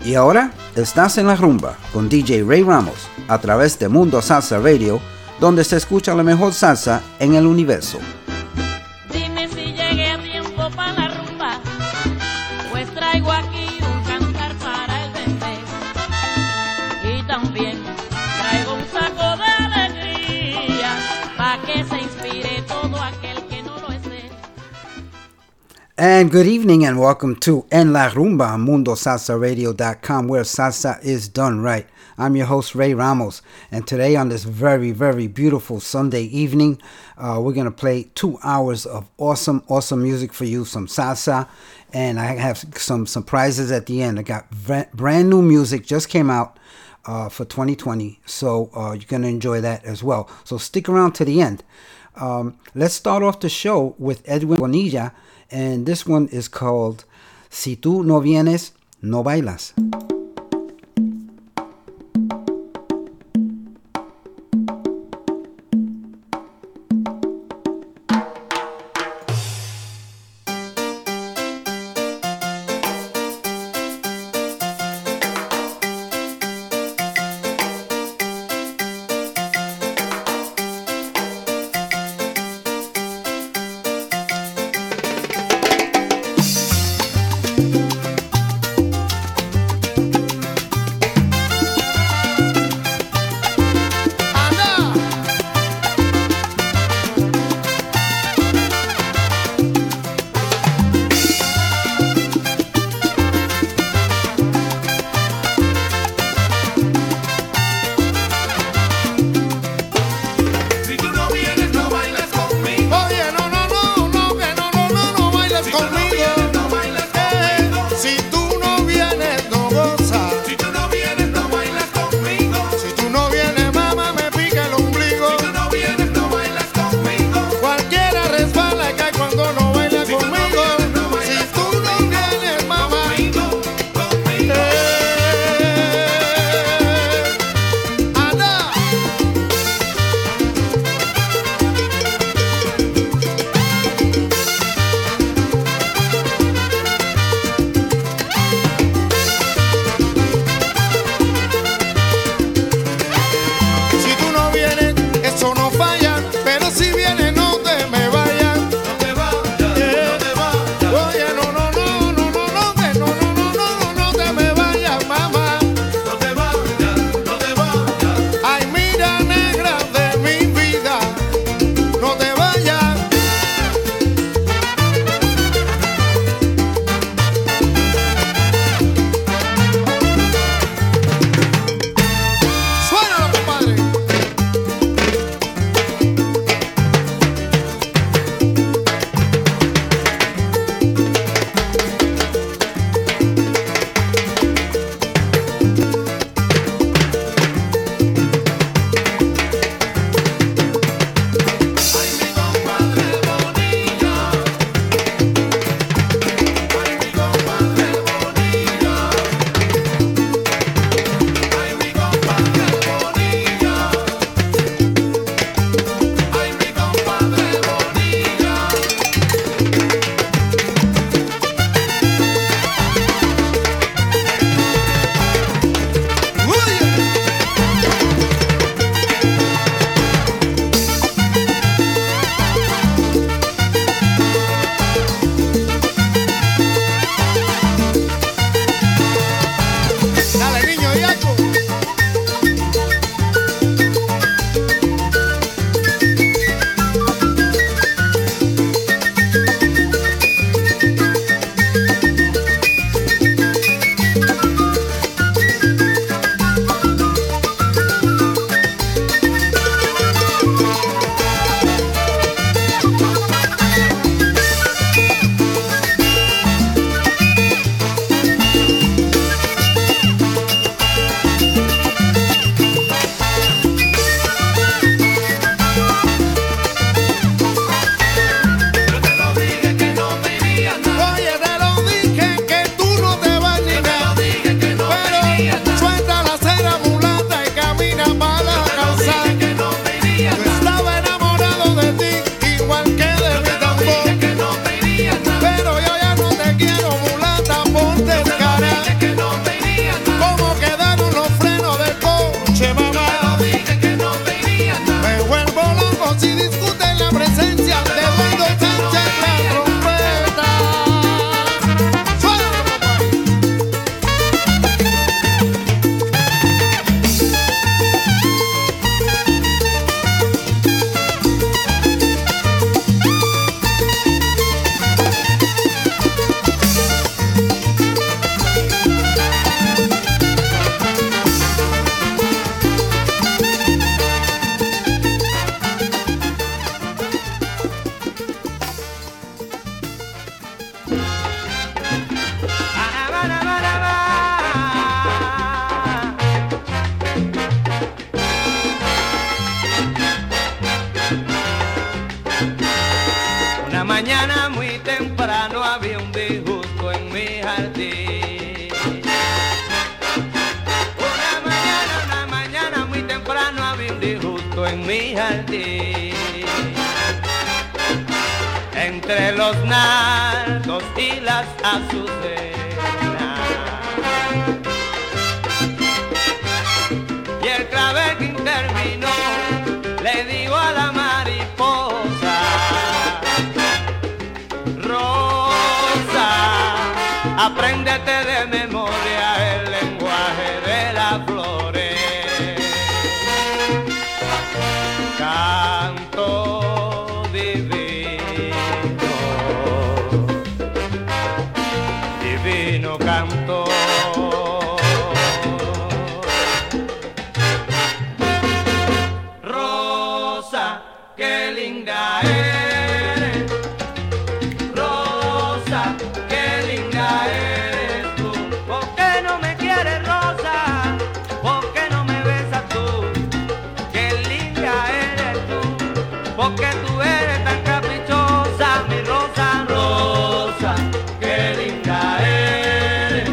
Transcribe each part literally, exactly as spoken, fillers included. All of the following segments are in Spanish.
Y ahora estás en la rumba con D J Ray Ramos a través de Mundo Salsa Radio, donde se escucha la mejor salsa en el universo. Dime si llegué a tiempo para la rumba, pues traigo aquí un cantar para el bebé. Y también traigo un saco de alegría, para que se inspire todo aquel que no lo esté. And good evening and welcome to En La Rumba on Mundo Salsa Radio dot com, where salsa is done right. I'm your host, Ray Ramos, and today on this very, very beautiful Sunday evening, uh, we're going to play two hours of awesome, awesome music for you, some salsa, and I have some surprises at the end. I got brand new music, just came out uh, for twenty twenty, so uh, you're going to enjoy that as well. So stick around to the end. Um, let's start off the show with Edwin Bonilla, and this one is called Si Tú No Vienes, No Bailas. en mi jardín. Entre los nardos y las azucenas, y el clavel que interminó, le digo a la mariposa: Rosa, apréndete de memoria el lenguaje de las flores. Canto divino, divino canto. Rosa, qué linda eres. Rosa, qué linda eres tú. ¿Por qué no me quieres, Rosa? ¿Por qué no me besas tú? Qué linda eres tú. Porque tú eres tan caprichosa, mi Rosa. Rosa, qué linda eres.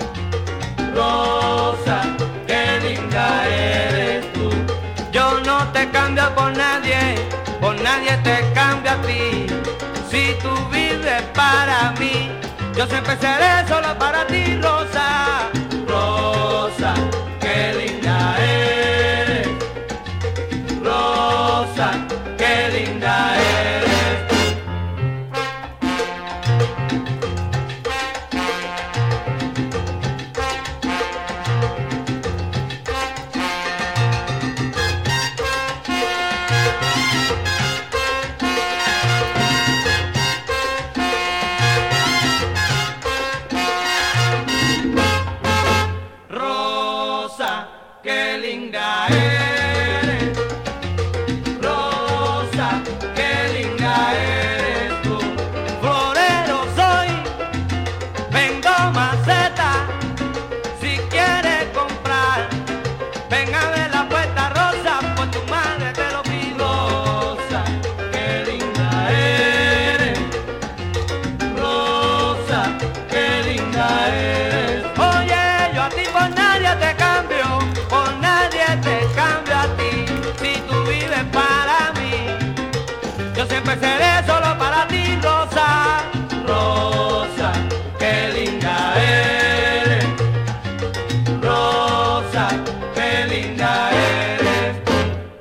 Rosa, qué linda eres tú. Yo no te cambio por nadie, por nadie te cambio a ti. Si tú vives para mí, yo siempre seré solo para ti, Rosa. Rosa, qué linda eres. Rosa, qué linda eres. Rosa, qué linda eres. Rosa, qué linda eres tú. Florero soy, vendo maceta. Si quieres comprar, ven a ver la puerta, Rosa, por tu madre te lo pido. Rosa, qué linda eres. Rosa, qué linda eres. Oye, yo a ti por nadie te cambio, por nadie te cambio a ti. Si tú vives para mí, yo siempre seré solo para ti, Rosa. Rosa, qué linda eres. Rosa, qué linda eres tú.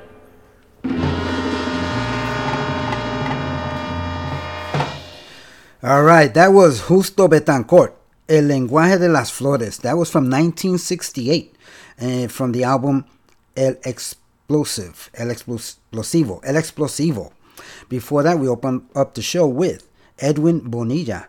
All right, that was Justo Betancourt, El Lenguaje de las Flores. That was from nineteen sixty-eight, uh, from the album El Explosive, El Explosivo, El Explosivo. Before that, we opened up the show with Edwin Bonilla,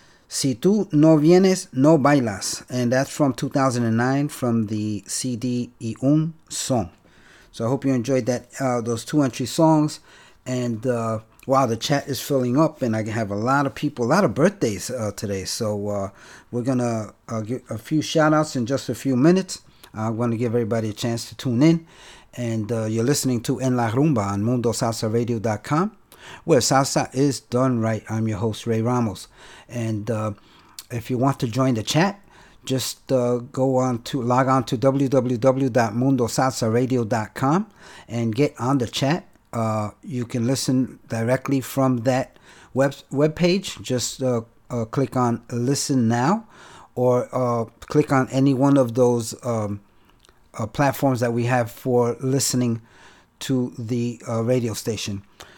Si Tú No Vienes, No Bailas. And that's from two thousand nine, from the C D Y Un Son. So I hope you enjoyed that, uh, those two entry songs. And uh, wow, the chat is filling up, and I have a lot of people, a lot of birthdays uh, today. So uh, we're going to uh, give a few shout outs in just a few minutes. I'm going to give everybody a chance to tune in. And uh, you're listening to En La Rumba on mundo salsa radio dot com, where salsa is done right. I'm your host, Ray Ramos. And uh, if you want to join the chat, just uh, go on to log on to w w w dot mundo salsa radio dot com and get on the chat. Uh, you can listen directly from that web web page. Just uh, uh, click on Listen Now, or uh, click on any one of those um, uh, platforms that we have for listening to the uh, radio station.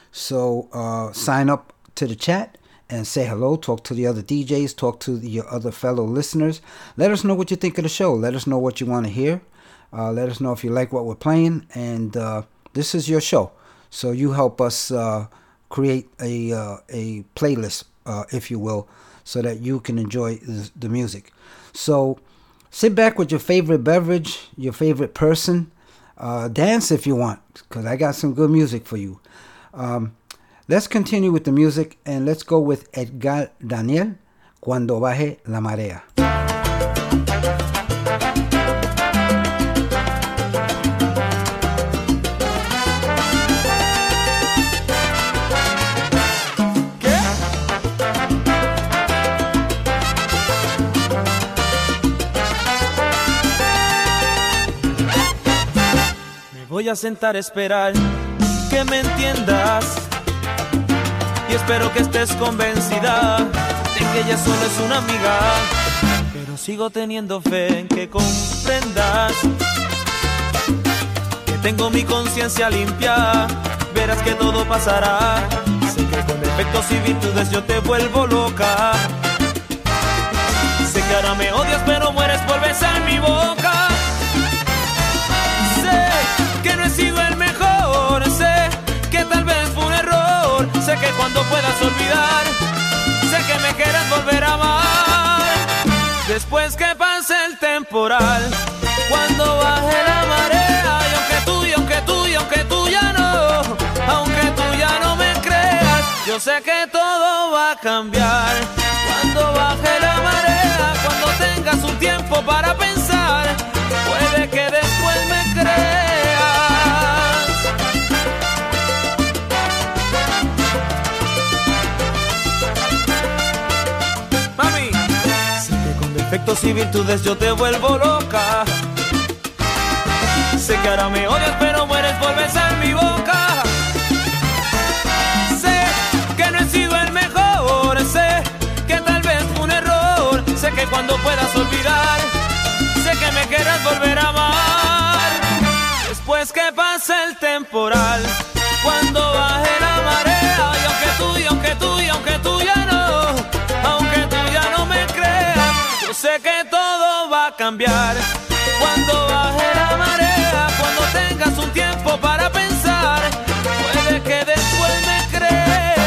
So uh, sign up to the chat and say hello, talk to the other D Js, talk to the, your other fellow listeners. Let us know what you think of the show. Let us know what you want to hear. Uh, let us know if you like what we're playing. And uh, this is your show. So you help us uh, create a, uh, a playlist, uh, if you will, so that you can enjoy the, the music. So sit back with your favorite beverage, your favorite person. Uh, dance if you want, because I got some good music for you. Um, let's continue with the music, and let's go with Edgar Daniel, Cuando Baje la Marea. Voy a sentar a esperar que me entiendas y espero que estés convencida de que ella solo es una amiga, pero sigo teniendo fe en que comprendas que tengo mi conciencia limpia. Verás que todo pasará. Sé que con defectos y virtudes yo te vuelvo loca. Sé que ahora me odias pero mueres por besar mi boca. Sé que no he sido el mejor, sé que tal vez fue un error. Sé que cuando puedas olvidar, sé que me quieras volver a amar. Después que pase el temporal, cuando baje la marea, y aunque tú, y aunque tú, y aunque tú ya no, aunque tú ya no me creas, yo sé que todo va a cambiar. Cuando baje la marea, cuando tengas un tiempo para pensar, puede que después me creas. Mami, sé que con defectos y virtudes yo te vuelvo loca. Sé que ahora me odias pero mueres por besar mi boca. Sé que no he sido el mejor, sé que tal vez fue un error. Sé que cuando puedas olvidar, sé que me quieras volver a amar. Después que pase el temporal, cuando baje la marea, y aunque tú, y aunque tú, y aunque tú ya no, aunque tú ya no me creas, yo sé que todo va a cambiar. Cuando baje la marea, cuando tengas un tiempo para pensar, puede que después me creas.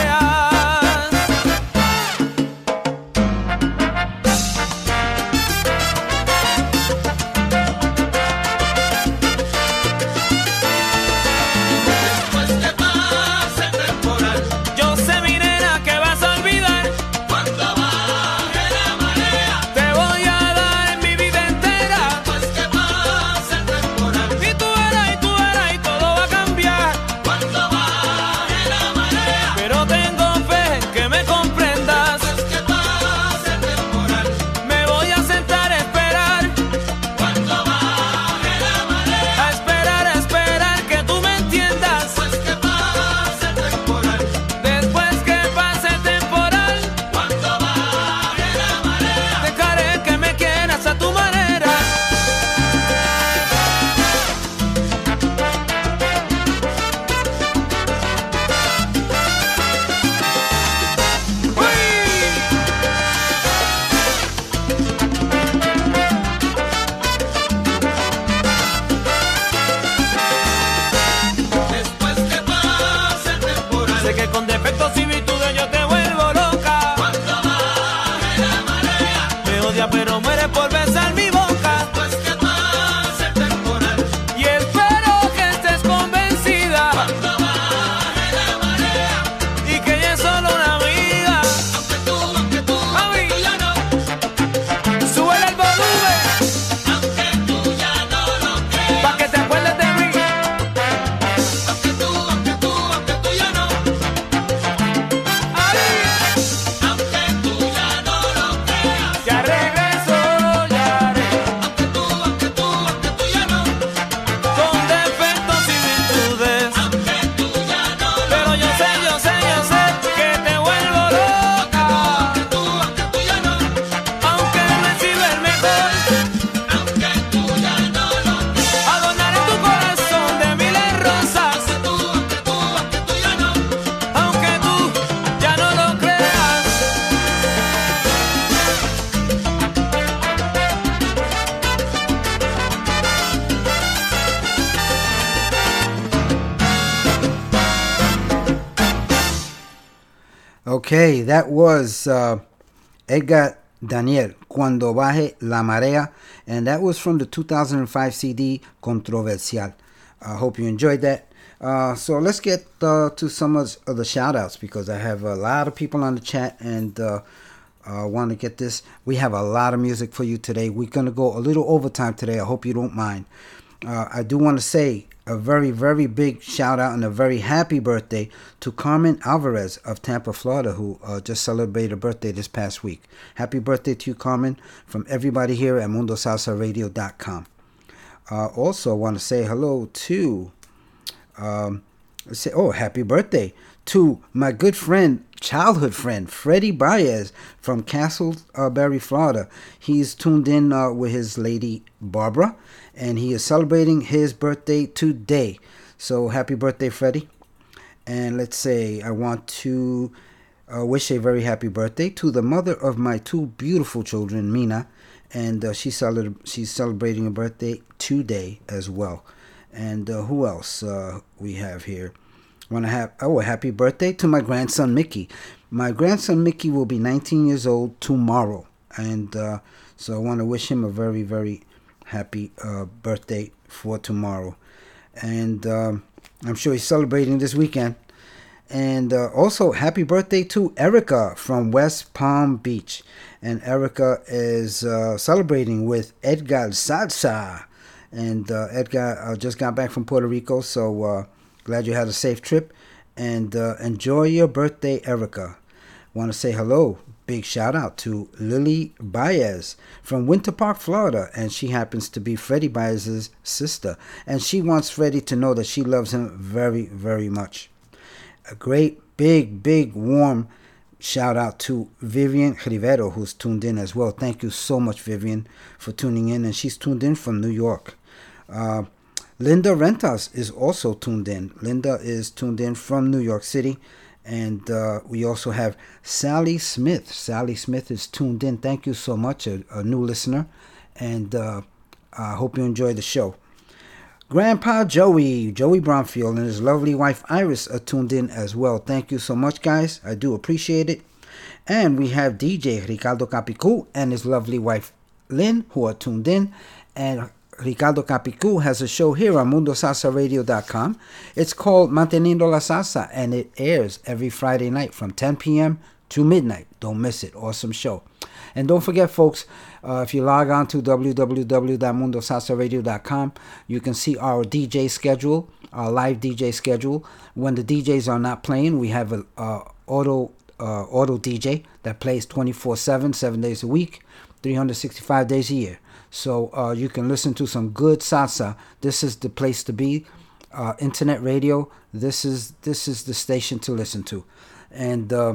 Después que pase el temporal, yo sé mi nena que vas a olvidar. Cuando baje la marea, te voy a dar mi vida entera. Después que pase el temporal, y tú verás, y tú verás, y todo va a cambiar. Cuando baje la marea, pero tengo fe en que me comprendas. Después que pase el temporal, me voy a sentar a esperar. Cuando baje la marea, a esperar, a esperar que tú me entiendas. Después que pase el temporal, después que pase el temporal, cuando baje la marea, dejaré que me quieras a tu manera. Después que pase el temporal, sé que con defectos y virtudes yo te vuelvo loca. Cuando baje la marea, me odia pero muere por besar mi boca. Después que pase el temporal, y espero que estés convencida. Cuando baje la marea, y que ella es solo una amiga. Aunque tú, aunque tú, aunque tú ya no, súbele el volumen. Aunque tú ya no lo creas, pa' que te acuerdes de mí. Aunque tú, aunque tú, aunque tú ya no. Ay. Aunque tú ya no lo creas, ya regreso, ya regreso. Aunque tú, aunque tú, aunque tú ya no. Con defectos y virtudes, aunque tú ya no lo, pero yo sé, yo sé, yo sé que te vuelvo loca. Aunque tú, aunque tú ya no. Aunque no he sido el mejor, aunque tú ya no lo creas, adornaré tu corazón de miles rosas. Aunque tú, aunque tú, aunque tú ya no. Aunque tú ya no lo creas. Okay, that was uh, Edgar Daniel, Cuando Baje la Marea, and that was from the two thousand five C D Controversial. I hope you enjoyed that. Uh, so let's get uh, to some of the shout outs because I have a lot of people on the chat and uh, uh, want to get this. We have a lot of music for you today. We're going to go a little overtime today. I hope you don't mind. Uh, I do want to say a very, very big shout out and a very happy birthday to Carmen Alvarez of Tampa, Florida, who uh, just celebrated a birthday this past week. Happy birthday to you, Carmen, from everybody here at mundo salsa radio dot com. Uh, also, I want to say hello to um, say, oh, happy birthday to my good friend, childhood friend, Freddie Baez from Castleberry, Florida. He's tuned in uh, with his lady, Barbara, and he is celebrating his birthday today. So happy birthday, Freddie. And let's say I want to uh, wish a very happy birthday to the mother of my two beautiful children, Mina, and uh, she's, cele- she's celebrating a birthday today as well. And uh, who else uh, we have here? Want to have oh a happy birthday to my grandson Mickey. My grandson Mickey will be nineteen years old tomorrow, and uh, so I want to wish him a very very happy uh, birthday for tomorrow. And um, I'm sure he's celebrating this weekend. And uh, also happy birthday to Erica from West Palm Beach. And Erica is uh, celebrating with Edgar Salsa. And uh, Edgar uh, just got back from Puerto Rico, so uh, glad you had a safe trip. And uh, enjoy your birthday, Erica. Want to say hello, big shout out to Lily Baez from Winter Park, Florida. And she happens to be Freddie Baez's sister. And she wants Freddie to know that she loves him very, very much. A great, big, big, warm shout out to Vivian Rivero, who's tuned in as well. Thank you so much, Vivian, for tuning in. And she's tuned in from New York. Uh, Linda Rentas is also tuned in. Linda is tuned in from New York City. And uh, we also have Sally Smith. Sally Smith is tuned in. Thank you so much, a, a new listener. And uh, I hope you enjoy the show. Grandpa Joey, Joey Bromfield, and his lovely wife Iris are tuned in as well. Thank you so much, guys. I do appreciate it. And we have D J Ricardo Capicu and his lovely wife Lynn, who are tuned in. And Ricardo Capicu has a show here on mundo salsa radio dot com. It's called Manteniendo la Salsa, and it airs every Friday night from ten p.m. to midnight. Don't miss it. Awesome show. And don't forget, folks, uh, if you log on to w w w dot mundo salsa radio dot com, you can see our D J schedule, our live D J schedule. When the D Js are not playing, we have an uh, auto uh, auto D J that plays twenty-four seven, seven days a week, three hundred sixty-five days a year. So uh, you can listen to some good salsa. This is the place to be. Uh, internet radio. This is this is the station to listen to, and. Uh,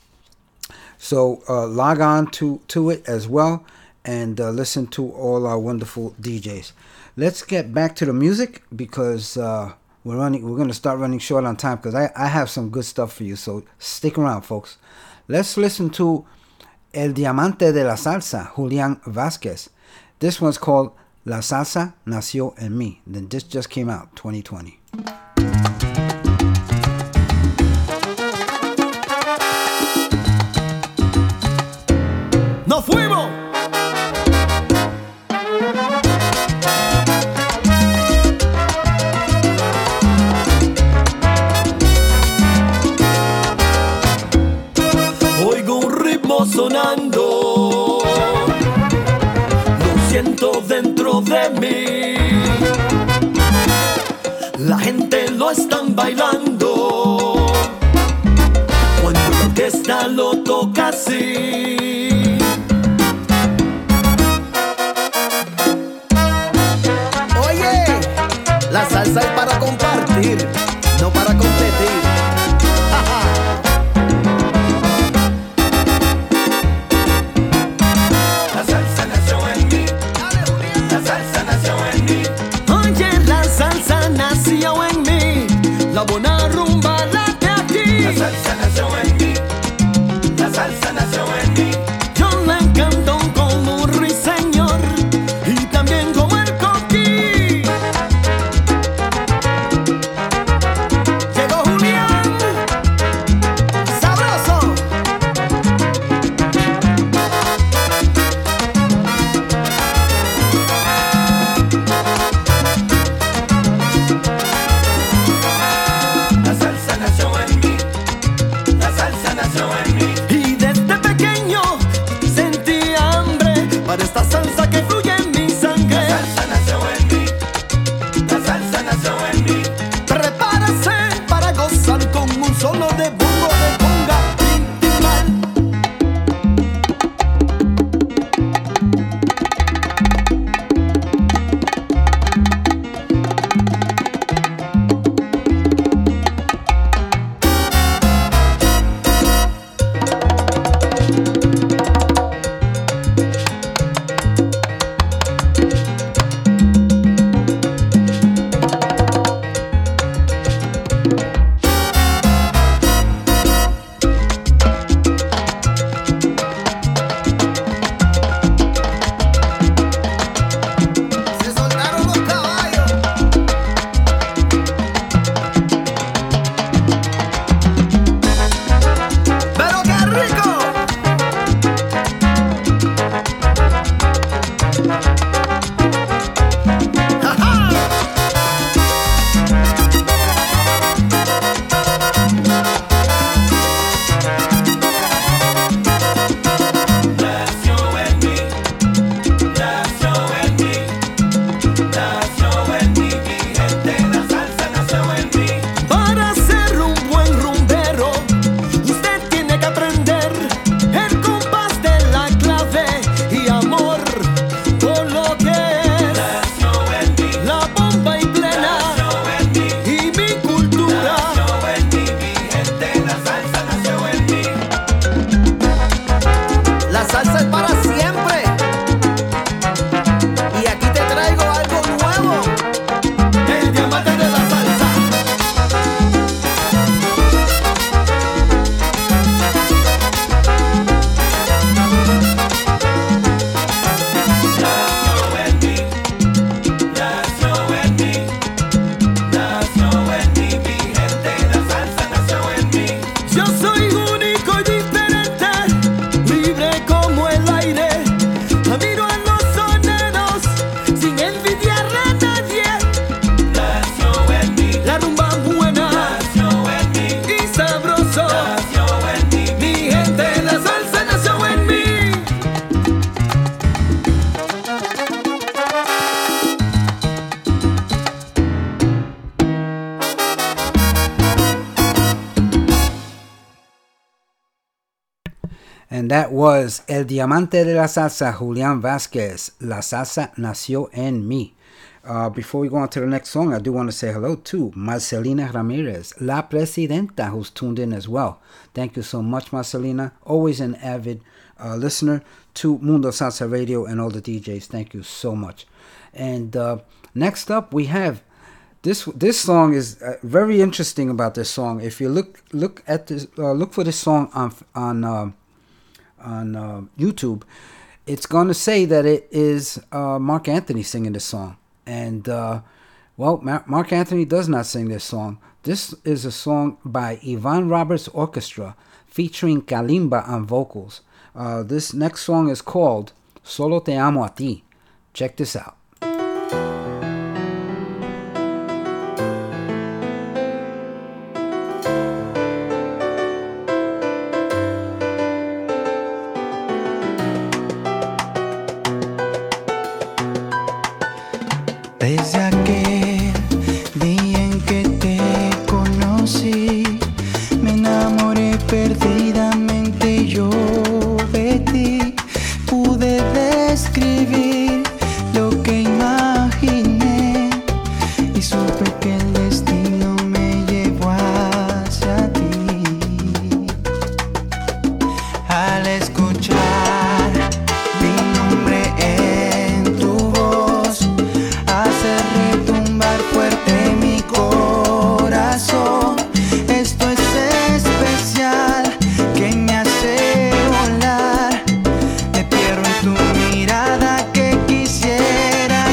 So uh, log on to, to it as well and uh, listen to all our wonderful D Js. Let's get back to the music because uh, we're running. We're going to start running short on time because I, I have some good stuff for you. So stick around, folks. Let's listen to El Diamante de la Salsa, Julian Vasquez. This one's called La Salsa Nació en Mí. Then this just came out, twenty twenty. ¡Nos fuimos! Oigo un ritmo sonando, lo siento dentro de mí. La gente lo están bailando cuando la orquesta lo toca así. La salsa es para compartir, no para competir. La salsa nació en mí. La salsa nació en mí. Oye, la salsa nació en mí. La buena rumba late aquí. La salsa nació en mí. La salsa nació en mí. Yo la canto como un ruiseñor y también como el coquí. durar para siempre. Y aquí te traigo algo nuevo. El diamante de la salsa. Nació en mí, nació en mí, nació en mí, mi gente, la salsa nació en mí. Yo soy único y diferente, libre como el aire. Admiro a los soneros sin envidiar a nadie. Nació en mí, la rumba buena. Nació en mí, y sabroso. Nació en mí, mi gente, la salsa nació en mí. And that was El Diamante de la Salsa, Julian Vasquez. La salsa nació en mí. Uh, before we go on to the next song, I do want to say hello to Marcelina Ramirez, La Presidenta, who's tuned in as well. Thank you so much, Marcelina. Always an avid uh, listener to Mundo Salsa Radio and all the D Js. Thank you so much. And uh, next up, we have this. This song is uh, very interesting about this song. If you look look at this, uh, look for this song on on. Uh, on uh, YouTube, it's going to say that it is uh, Mark Anthony singing this song. And, uh, well, Mar- Mark Anthony does not sing this song. This is a song by Ivan Roberts Orchestra featuring Kalimba on vocals. Uh, this next song is called Solo Te Amo A Ti. Check this out. Desde aquel día en que te conocí, me enamoré perdidamente yo de ti. Pude describir lo que imaginé y supe que el destino me llevó hacia ti. Al escuchar mi nombre en tu voz, hace retumbar fuerte mi corazón. Esto es especial que me hace volar. Me pierdo en tu mirada que quisiera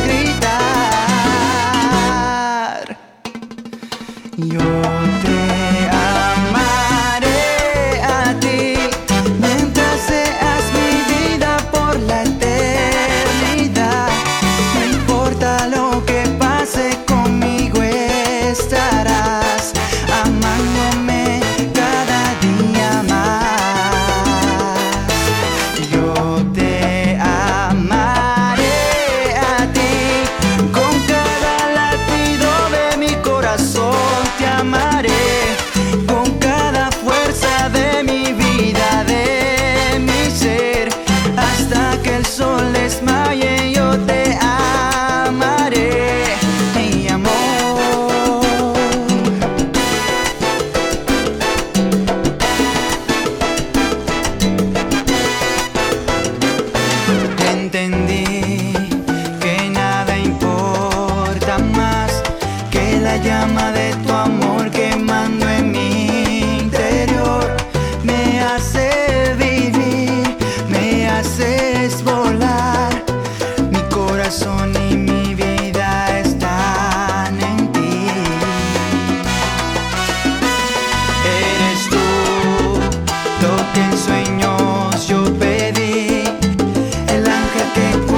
gritar. Yo te amaré a ti mientras seas mi vida por la eternidad. No importa lo que pase, conmigo estarás, amándome cada día más. Yo te amaré a ti con cada latido de mi corazón. Te amaré con cada fuerza de mi vida, de mi ser, hasta que el sol desmaye. Yo te amaré, mi amor. Entendí que nada importa más que la llama de tu amor quemando en mi interior. Me hace vivir, me haces volar. Mi corazón y mi vida están en ti. Eres tú lo que en sueños yo pedí, el ángel que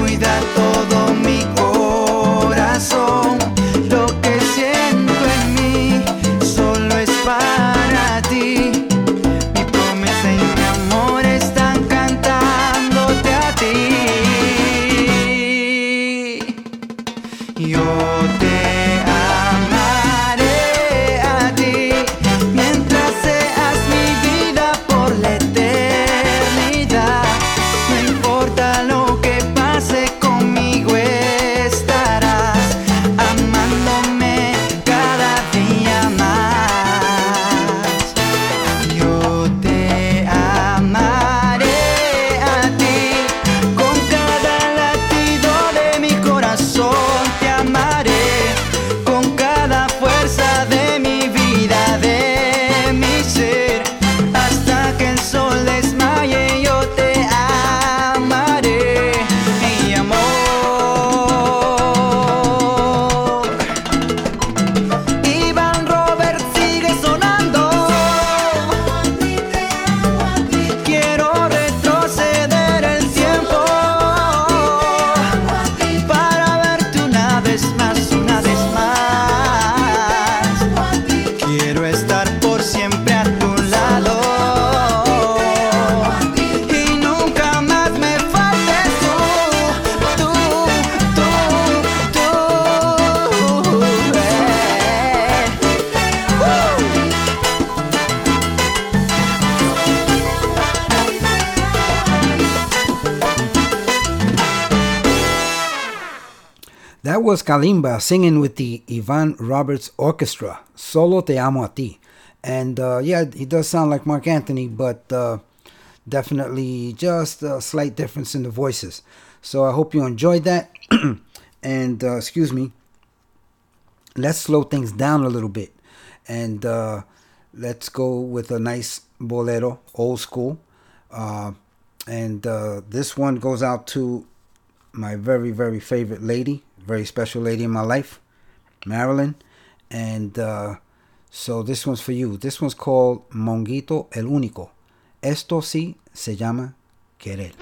That was Kalimba singing with the Ivan Roberts Orchestra, Solo Te Amo A Ti. And uh, yeah, he does sound like Mark Anthony, but uh, definitely just a slight difference in the voices. So I hope you enjoyed that. And uh, excuse me, let's slow things down a little bit. And uh, let's go with a nice bolero, old school. Uh, and uh, this one goes out to my very, very favorite lady, very special lady in my life, Marilyn. And uh, so this one's for you. This one's called Monguito el Único. Esto sí se llama querer.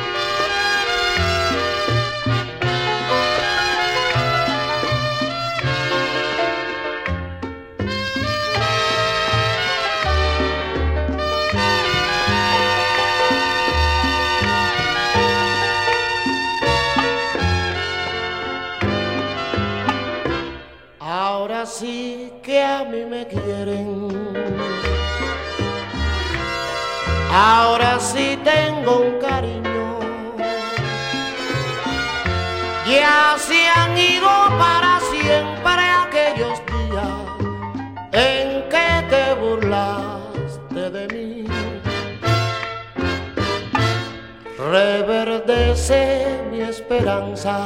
Ahora sí que a mí me quieren, ahora sí tengo un cariño, ya se han ido para siempre aquellos días en que te burlaste de mí. Reverdece mi esperanza,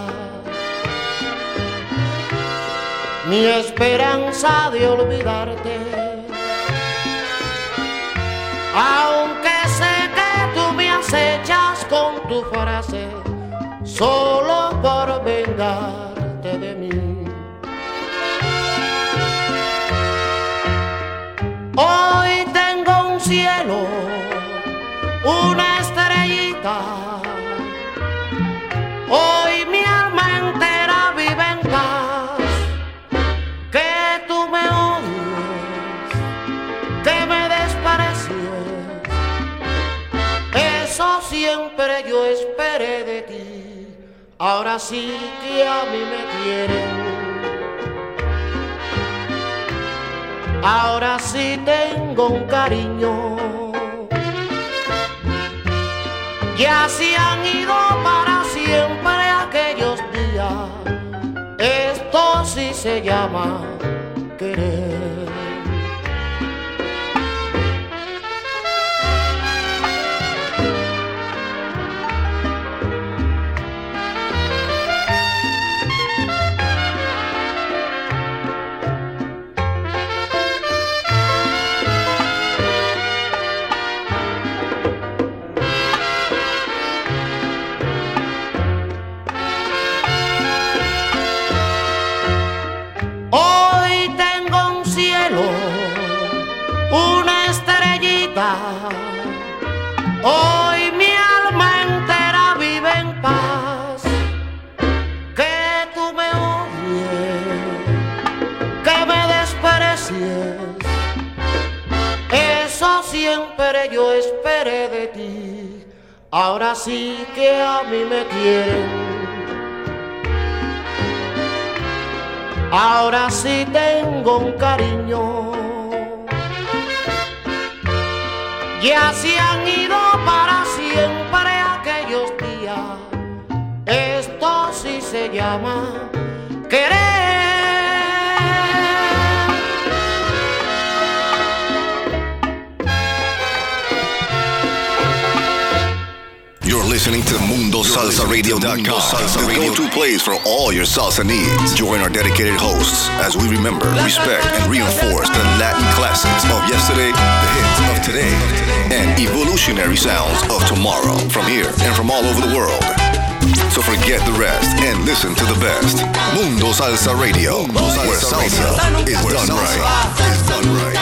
mi esperanza de olvidarte, aunque sé que tú me acechas con tu frase, solo por vengarte de mí. Hoy tengo un cielo, una estrellita, hoy mi alma entera vive en paz. Que tú me odies, que me desprecies, eso siempre yo esperé de ti. Ahora sí que a mí me quieren, ahora sí tengo un cariño, ya se han ido para siempre aquellos días. Esto sí se llama querer. Hoy tengo un cielo, una estrellita, hoy mi alma entera vive en paz. Que tú me odies, que me desprecies, eso siempre yo esperé de ti. Ahora sí que a mí me quieren, ahora sí tengo un cariño, ya se han ido para siempre aquellos días. Esto sí se llama querer. You're listening to Mundo Salsa Radio dot com, the go-to place for all your salsa needs. Join our dedicated hosts as we remember, respect, and reinforce the Latin classics of yesterday, the hits of today, and evolutionary sounds of tomorrow from here and from all over the world. So forget the rest and listen to the best. Mundo Salsa Radio, where salsa is done right. Is done right.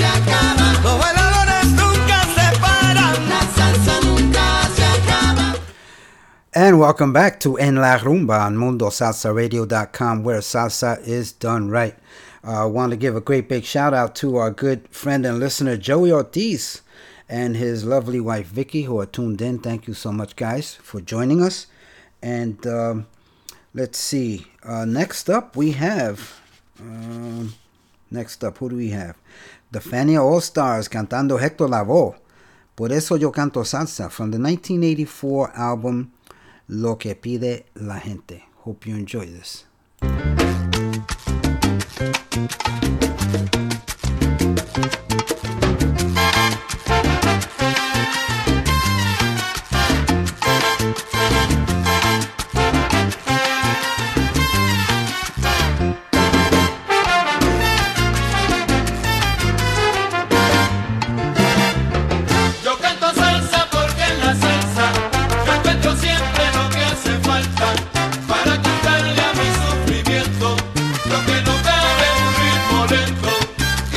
And welcome back to En La Rumba on Mundo Salsa Radio dot com, where salsa is done right. I uh, want to give a great big shout out to our good friend and listener Joey Ortiz and his lovely wife Vicky, who are tuned in. Thank you so much, guys, for joining us. And um, let's see. Uh, next up, we have. Um, next up, who do we have? The Fania All Stars cantando Hector Lavoe. Por eso yo canto salsa, from the nineteen eighty-four album Lo que pide la gente. Hope you enjoy this. Para quitarle a mi sufrimiento lo que no cabe en un ritmo lento.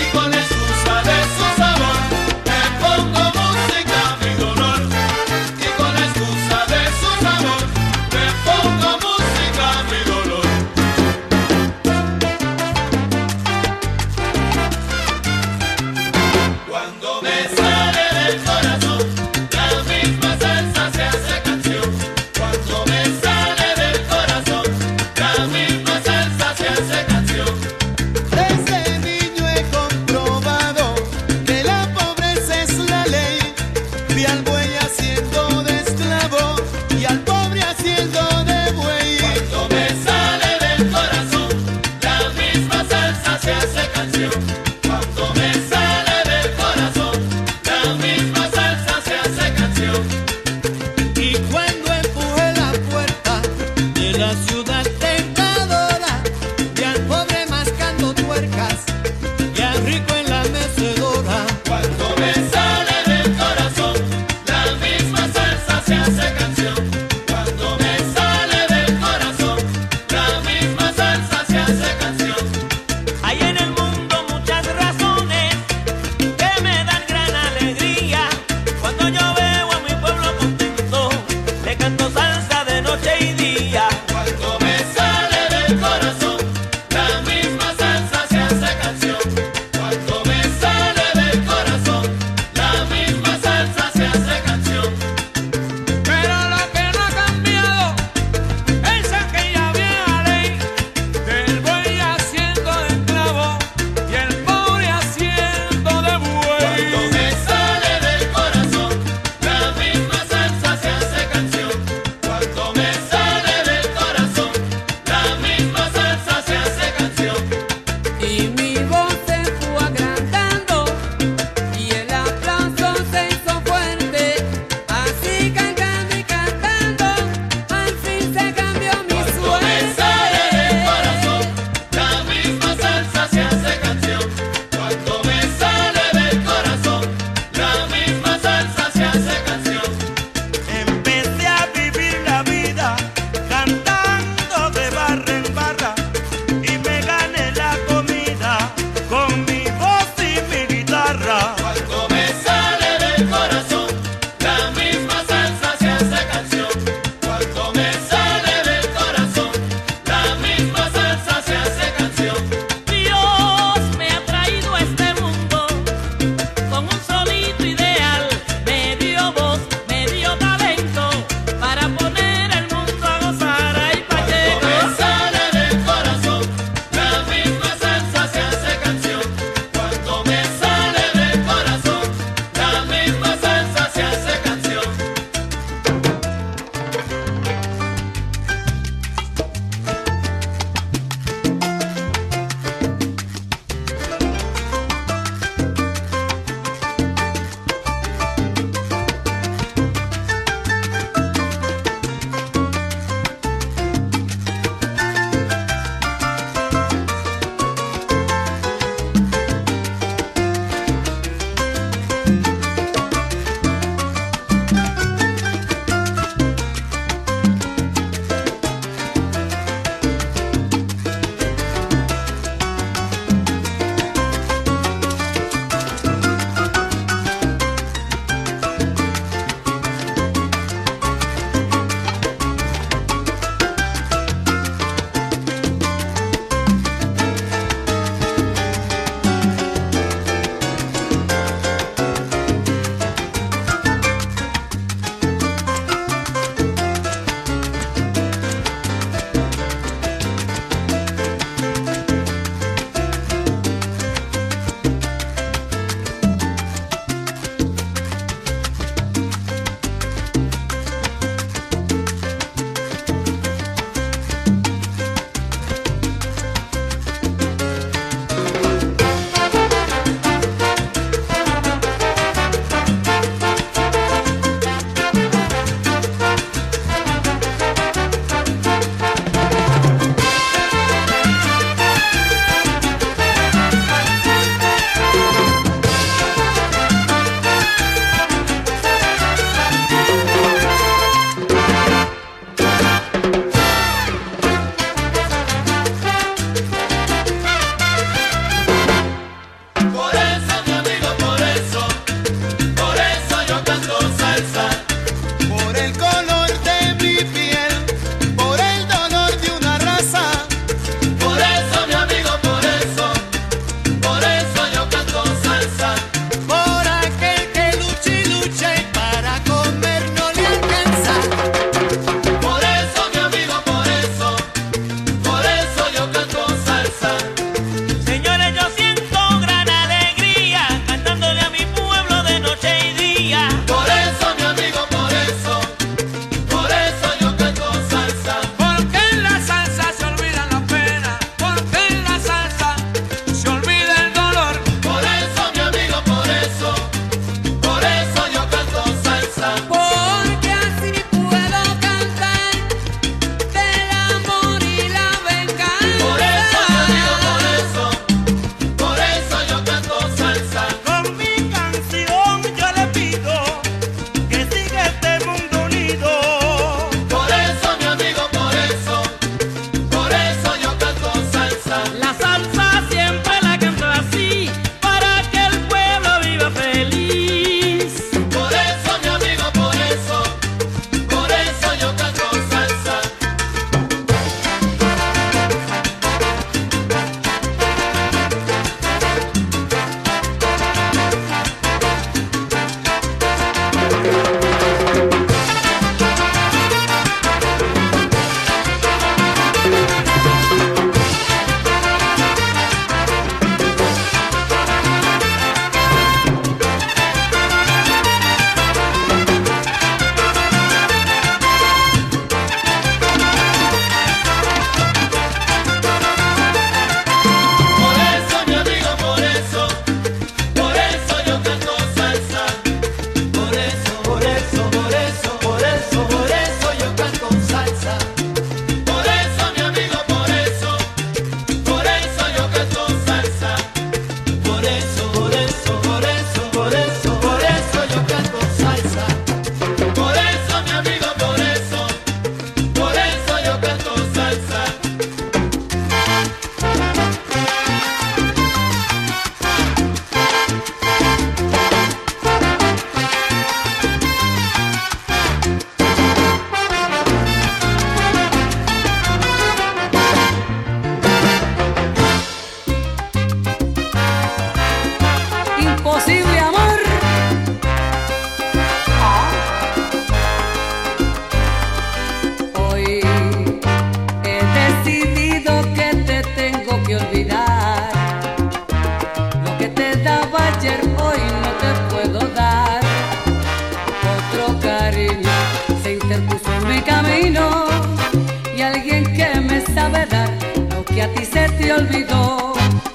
sabe dar lo que a ti se te olvidó.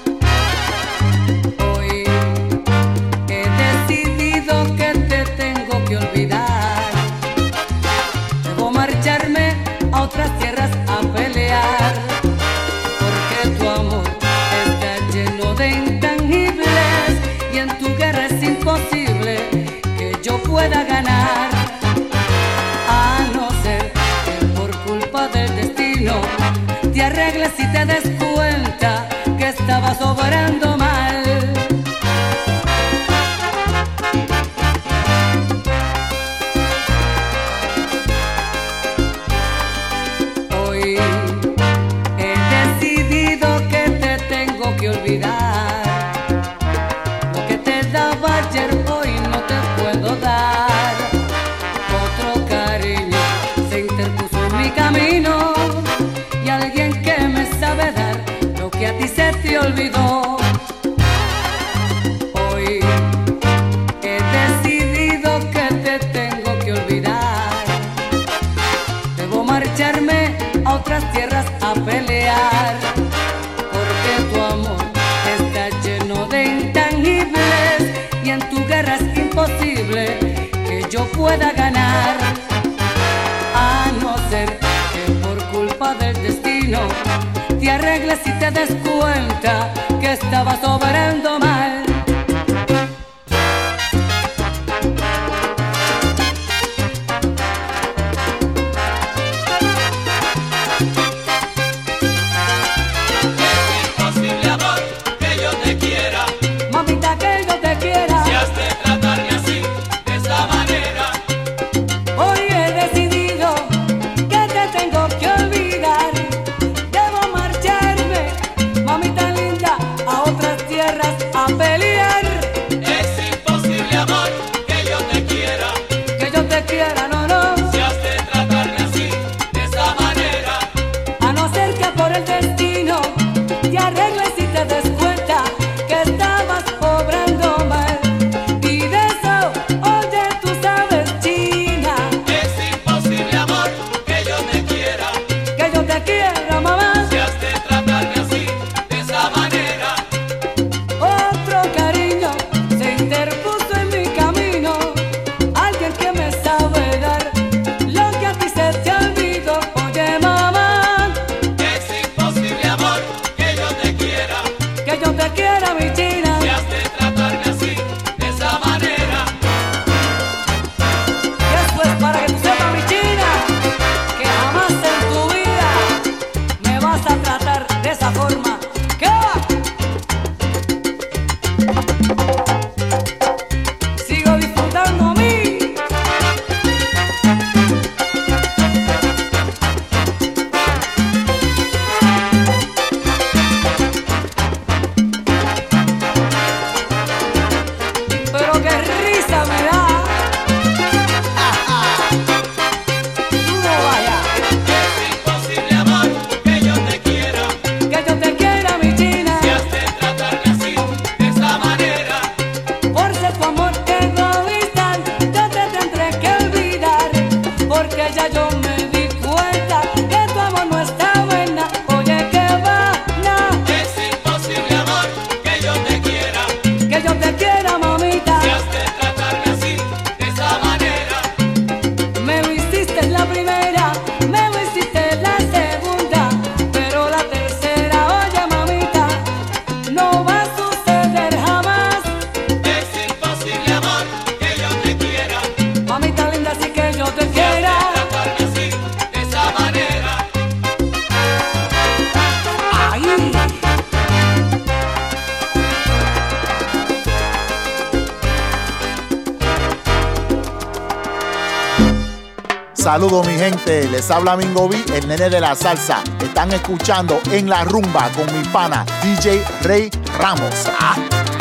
Hoy he decidido que te tengo que olvidar. Debo marcharme a otras tierras a pelear, porque tu amor está lleno de intangibles y en tu guerra es imposible que yo pueda ganar. A no ser que por culpa del destino te arregles y te des cuenta que estabas obrando mal. Hoy he decidido que te tengo que olvidar. Lo que te daba ayer hoy no te puedo dar. Otro cariño se interpuso en mi camino y alguien que me sabe dar lo que a ti se te olvidó. Hoy he decidido que te tengo que olvidar. Debo marcharme a otras tierras a pelear, porque tu amor está lleno de intangibles y en tu guerra es imposible que yo pueda ganar. A no ser que por culpa del destino te arregles y te des cuenta que estabas obrando mal. Imposible amor que yo te quiera, Mamita, que yo te quiera. si has de tratarme así, de esta manera. Hoy he decidido que te tengo que olvidar. Debo marcharme, mamita linda, a otras tierras a pelear. Es imposible amor que yo te quiera, Que yo te quiera, no, no. si has de tratarme así, de esta manera. A no ser que por el destino te arregles y te des cuenta que estabas obrando mal. Y de eso, oye, tú sabes, China, Es imposible amor que yo te quiera, que yo te quiera, mamá. si has de tratarme así, de esa manera. Otro cariño se interpuso en mi camino, alguien que me sabe dar lo que a ti se te olvidó. Oye, mamá, Es imposible amor que yo te quiera, que yo te quiera, mi China. si has de tratarme así, de esa manera. Y eso es para que tú sepas, mi China, que jamás en tu vida me vas a tratar de esa forma. ¿Qué va? Sigo disfrutando a mí. Pero qué risa me da. Tú no vayas. Es imposible amor que yo te quiera, Que yo te quiera, mi China. si has de tratarme así, de esa manera. Por ser tu amor egoísta, yo te tendré que olvidar, porque ya yo me di cuenta que tu amor no está buena. Oye, que va, no, Es imposible amor que yo te quiera, que yo te quiera, mamita. si has de tratarme así, de esa manera. Me lo hiciste la primera, me lo hiciste la segunda, pero la tercera, oye, mamita, no va a suceder jamás. Es imposible amor que yo te quiera, Mamita linda, así que yo te quiera. tratarme así, de esa manera. Ay. Saludos mi gente, les habla Mingo B, el nene de la salsa. Están escuchando En la Rumba con mi pana D J Ray Ramos. Ah.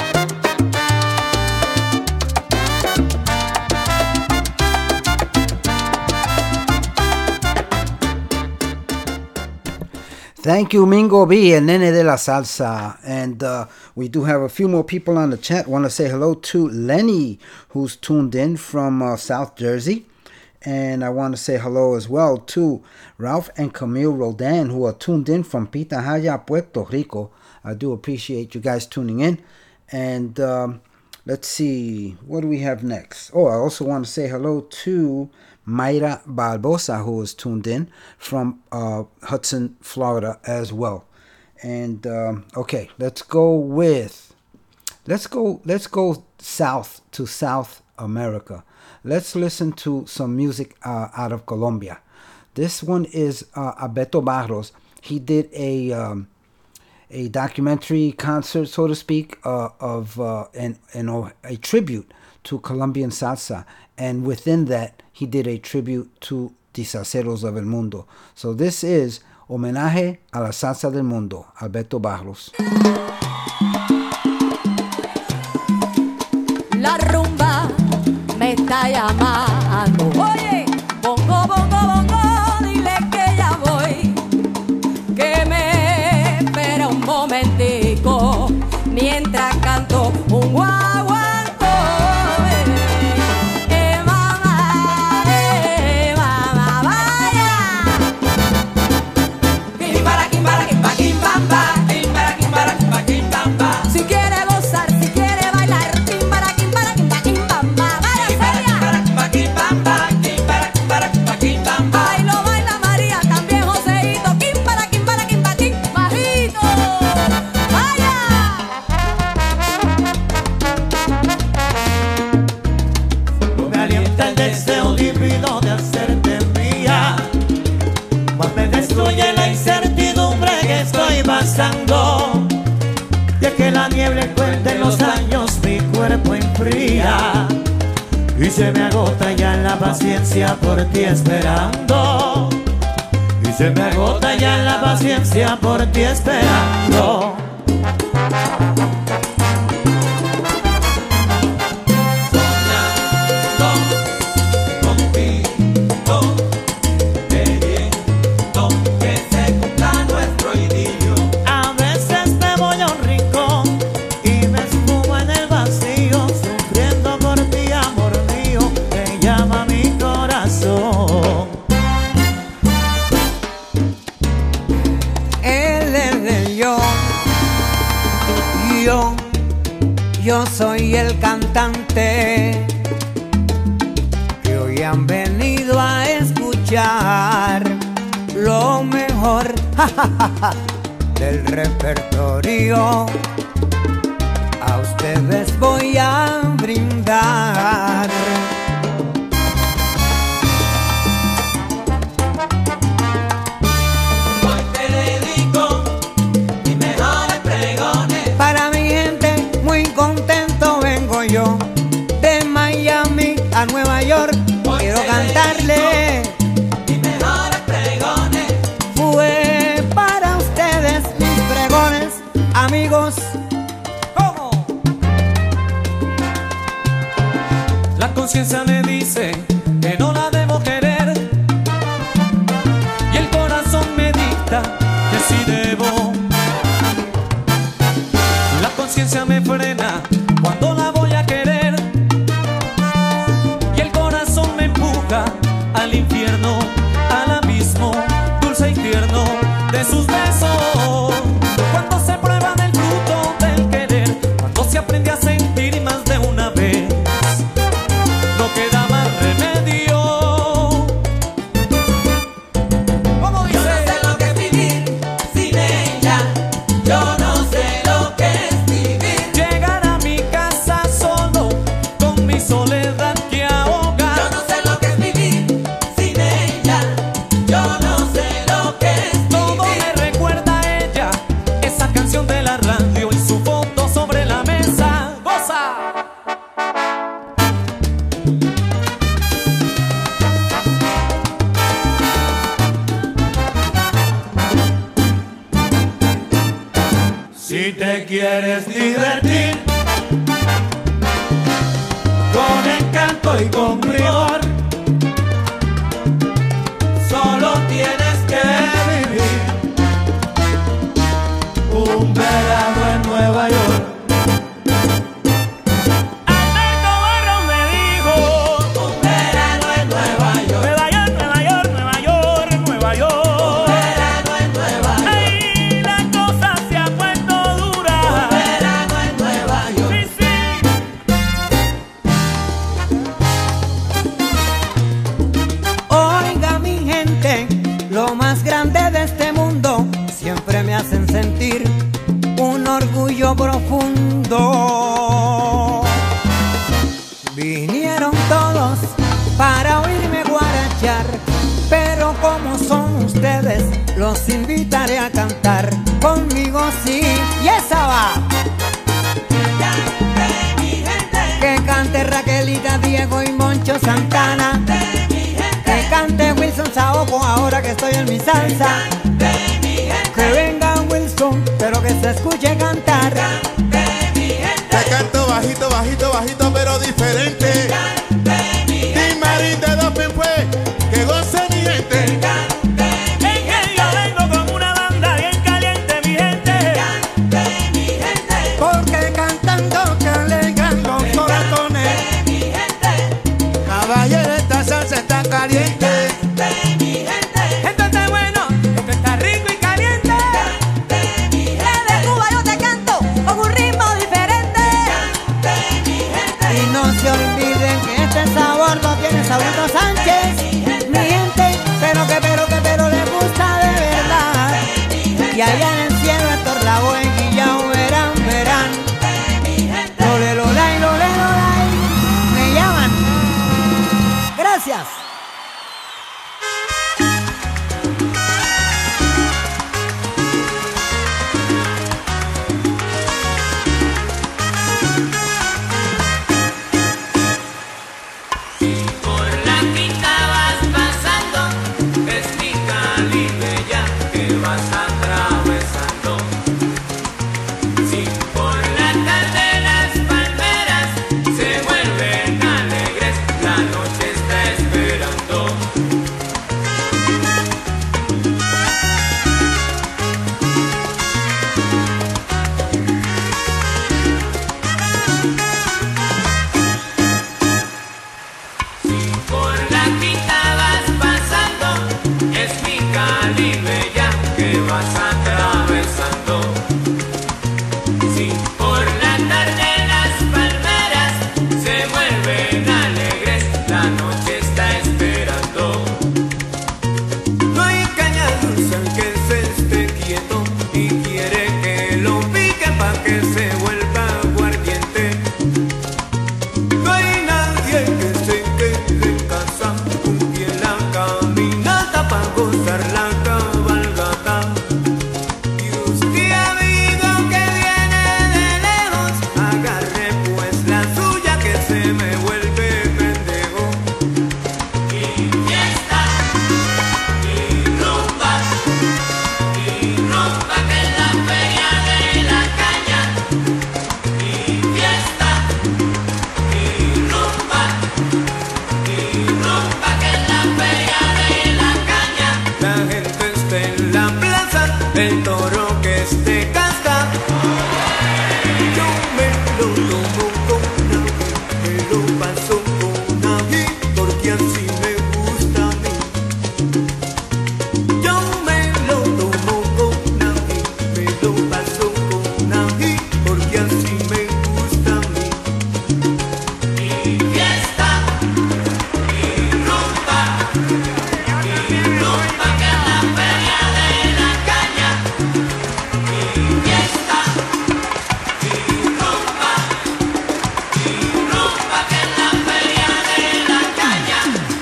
Thank you, Mingo B, el nene de la salsa. And uh, we do have a few more people on the chat. Want to say hello to Lenny, who's tuned in from uh, South Jersey. And I want to say hello as well to Ralph and Camille Roldan, who are tuned in from Pitahaya, Puerto Rico. I do appreciate you guys tuning in. And um, let's see, what do we have next? Oh, I also want to say hello to Mayra Barbosa, who is tuned in from uh, Hudson, Florida as well. And um, okay, let's go with, let's go, let's go south to South America. Let's listen to some music uh, out of Colombia. This one is uh, Alberto Barros. He did a um, a documentary concert, so to speak, uh, of uh, an, an, a tribute to Colombian salsa. And within that, he did a tribute to the salseros of el mundo. So this is Homenaje a la Salsa del Mundo, Alberto Barros. La rumba me está llamando. Oye, bongo, bongo, bongo, dile que ya voy. Que me espera un momentico mientras canto un guaguancó. Eh, mamá, eh, mamá, vaya. Quimbara, quimbara, quimba, quimbamba. Quimbara, quimbara, quimba, quimbamba. Si quiere gozar, si quiere bailar, quimbara, quimbara, quimba, quimbamba. Vaya, Celia. Quimbara, quimbara, quimbamba. Quimbara, quimbara, quimba, quimbamba. Bailo, baila María, también Joseito. Quimbara, quimbara, quimba, quimbajito. Vaya. Me alienta el deseo divino de hacerte mía, mas me destruye la incertidumbre que estoy pasando. Y es que la niebla cuenta los años mi cuerpo enfría y se me agota ya la paciencia por ti esperando. Y se me agota ya la paciencia por ti esperando. A veces me voy a un rincón y me esfumo en el vacío, sufriendo por ti, amor mío, me llama mi corazón. Él es el yo, yo, yo soy el cantante que hoy han venido a escuchar lo mejor del repertorio. A ustedes voy a brindar. Hoy te dedico mis mejores pregones. Para mi gente muy contento vengo yo, de Miami a Nueva York. Quiero cantarle Mis mejores pregones. fue para ustedes mis pregones, amigos. ¿Cómo? La conciencia me dice que no la debo querer y el corazón me dicta que sí debo. La conciencia me frena cuando la voy a querer y el corazón me empuja al infierno, al abismo dulce y tierno de sus besos. Cuando se prueba del fruto del querer, cuando se aprende a sentir más de una vez, no queda más remedio. ¿Cómo dice? Yo no sé lo que es vivir sin ella. Yo no sé lo que es vivir. Llegar a mi casa solo con mi soledad que ahoga. Yo no sé lo que es vivir sin ella. Yo no sé lo que es vivir. Todo me recuerda a ella, esa canción de la radio y su foto sobre la mesa. ¡Goza! Si te quieres divertir con encanto y con rigor, solo tienes que vivir un verano en Nueva York. Alberto Barros me dijo un verano en Nueva York. lo más grande de este mundo, siempre me hacen sentir un orgullo profundo. Vinieron todos para oírme guarachar, pero como son ustedes, los invitaré a cantar conmigo, sí, y esa va. Cante mi gente, Que cante Raquelita, Diego y Moncho Santana. cante mi gente, Que cante Wilson Saoco ahora que estoy en mi salsa. cante mi gente, Que venga Wilson, pero que se escuche cantar. cante mi gente, Te canto bajito, bajito, bajito, pero diferente. cante mi gente, Y Marín de Doping fue, que goce mi gente. cante mi En que yo vengo con una banda bien caliente, mi gente. cante mi gente, Porque cantando que alegran los corazones. mi gente, Caballero, esta salsa está caliente. cante mi gente, Esto está bueno, esto está rico y caliente. cante mi gente, De Cuba yo te canto con un ritmo diferente. cante mi gente, Y no se olviden que este sabor lo tiene Saurito Sánchez. Mi gente, pero que, pero que, pero le gusta de verdad. Y allá en el cielo Héctor Lavoe y ya verán, verán. Lole, lolay, lole, lolay. Me llaman. Gracias. Por la quinta vas pasando, es mi Cali bella que vas atravesando. Si por la tarde las palmeras se vuelven alegres, la noche está esperando. Por la quinta vas pasando, es mi Cali bella que vas atravesando. Si por la tarde las palmeras se vuelven alegres, la noche está esperando. No hay caña dulce que se esté quieto y quiere que lo pique pa' que se vuelva aguardiente. No hay nadie que se quede en casa, un pie en la caminata pa' gozar la cabalgata. Y usted amigo que viene de lejos, agarre pues la suya que se me vuelve pendejo. Y fiesta, y rumba, y rumba que es la feria de la caña. Y fiesta, y rumba, y rumba que es la feria de la caña. La gente está en la plaza, el toro que esté casta. Yo me lo tomo con ají, me lo paso con ají, porque así me gusta a mí. Yo me lo tomo con ají, me lo paso con ají, porque así me gusta a mí. Y fiesta, y rumba, y rumba que es la feria de la caña. Y fiesta, y rumba, y rumba que es la feria de la caña.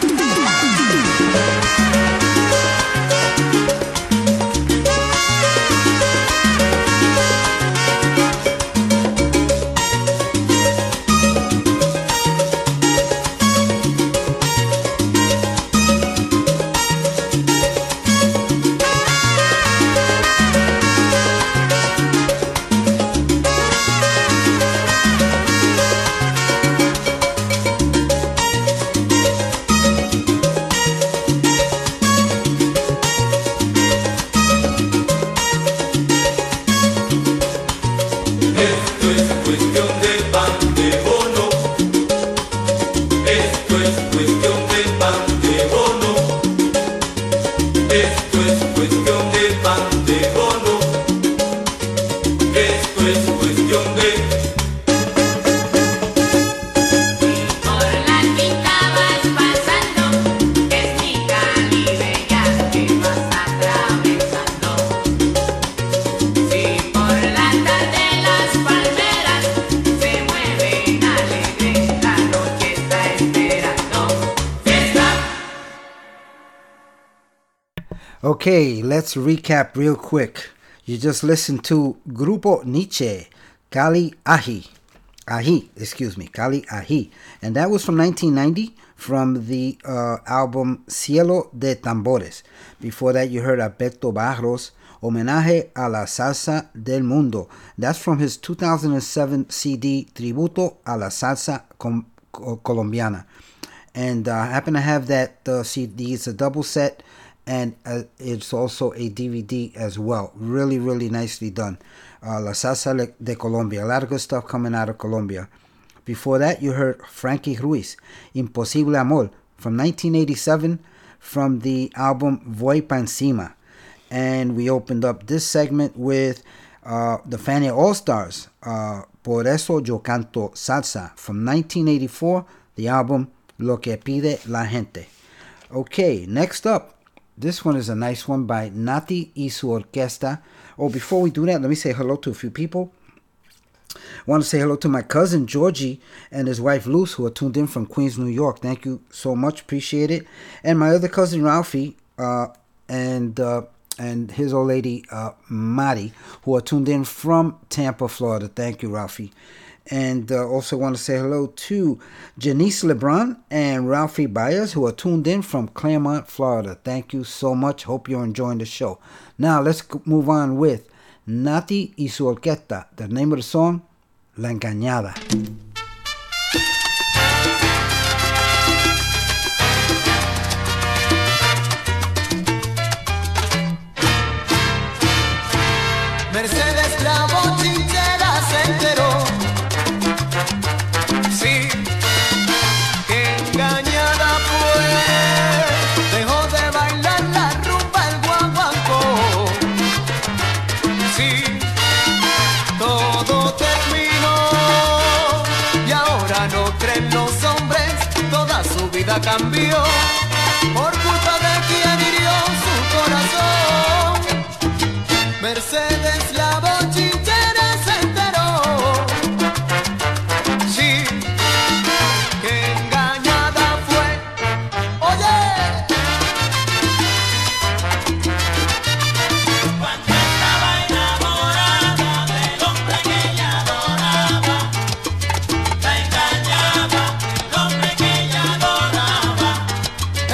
Esto es cuestión de pan de bono. Esto es cuestión de pan de bono. Esto es cuestión de pan de bono. Esto es cuestión de. Por la quinta vas pasando, es mi Cali bella que vas Okay, let's recap real quick. You just listened to Grupo Nietzsche, Cali Ají. Ají, excuse me, Cali Ají. And that was from nineteen ninety from the uh, album Cielo de Tambores. Before that, you heard Alberto Barros, Homenaje a la Salsa del Mundo. That's from his two thousand seven C D, Tributo a la Salsa Com- Colombiana. And uh, I happen to have that uh, C D. It's a double set, and uh, it's also a D V D as well. Really, really nicely done. Uh, La Salsa de Colombia. A lot of good stuff coming out of Colombia. Before that, you heard Frankie Ruiz, Imposible Amor, from nineteen eighty-seven, from the album Voy Pa Encima. And we opened up this segment with uh, the Fania All-Stars, uh, Por Eso Yo Canto Salsa, from nineteen eighty-four, the album Lo Que Pide La Gente. Okay, next up, this one is a nice one by Nati y su Orquesta. Oh, before we do that, let me say hello to a few people. I want to say hello to my cousin Georgie and his wife Luz, who are tuned in from Queens, New York. Thank you so much. Appreciate it. And my other cousin Ralphie uh, and uh, and his old lady uh, Mari, who are tuned in from Tampa, Florida. Thank you, Ralphie. And uh, also want to say hello to Janice LeBron and Ralphie Byers, who are tuned in from Claremont, Florida. Thank you so much. Hope you're enjoying the show. Now, let's move on with Nati y su Orquesta. The name of the song, La Engañada. Mercedes la bochinchera se enteró, sí, que engañada fue, dejó de bailar la rumba el guaguancó, sí, todo terminó y ahora no creen los hombres, toda su vida cambió por culpa de quien hirió su corazón. Mercedes la bochinchera se enteró, sí, que engañada fue, oye. Cuando estaba enamorada del hombre que ella adoraba, la engañaba el hombre que ella adoraba.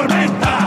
tormenta.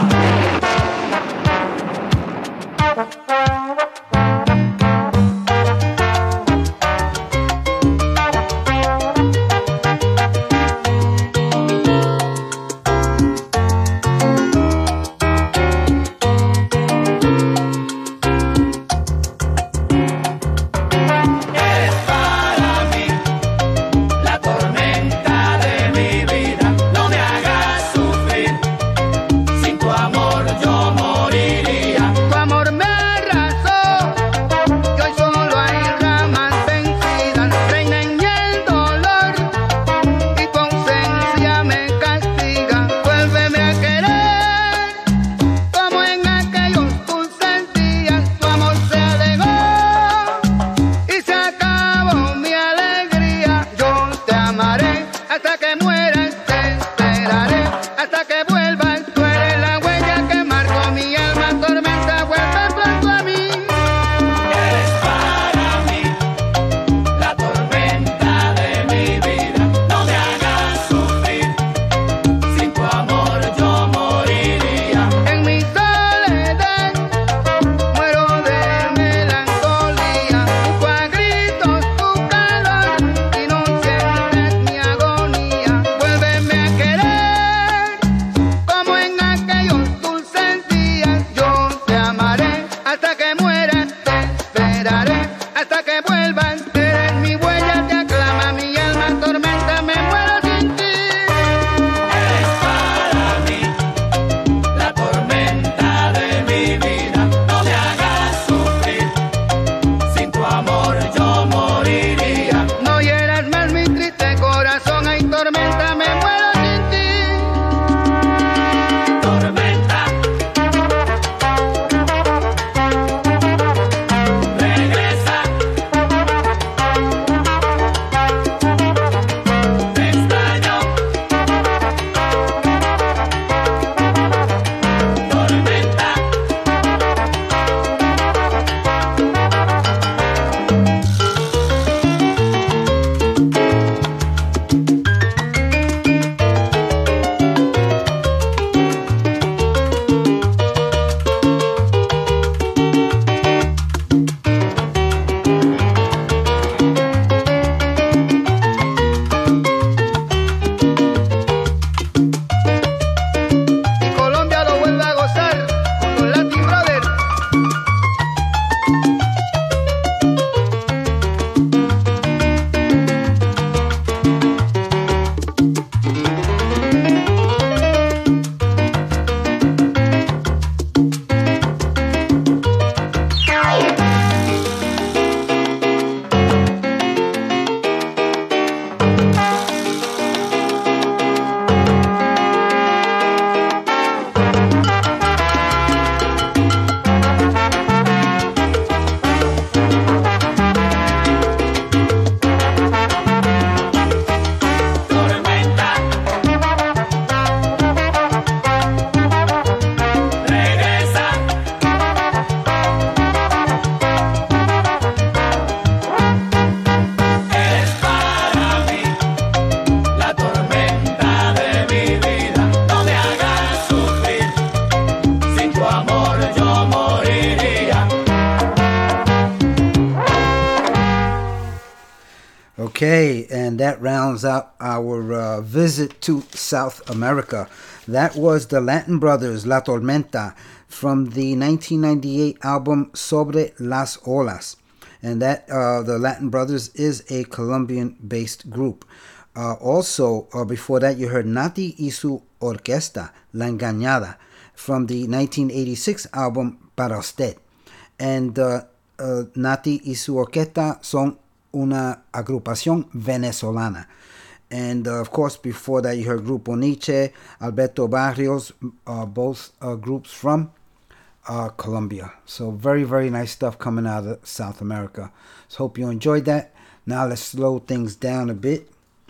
Okay, and that rounds out our uh, visit to South America. That was the Latin Brothers, La Tormenta, from the nineteen ninety-eight album Sobre las Olas. And that, uh, the Latin Brothers is a Colombian-based group. Uh, also, uh, before that, you heard Nati y su Orquesta, La Engañada, from the nineteen eighty-six album Para Usted. And uh, uh, Nati y su Orquesta son una agrupación venezolana. And uh, of course, before that, you heard Grupo Nietzsche, Alberto Barrios, uh, both uh, groups from uh, Colombia. So very, very nice stuff coming out of South America. So hope you enjoyed that. Now let's slow things down a bit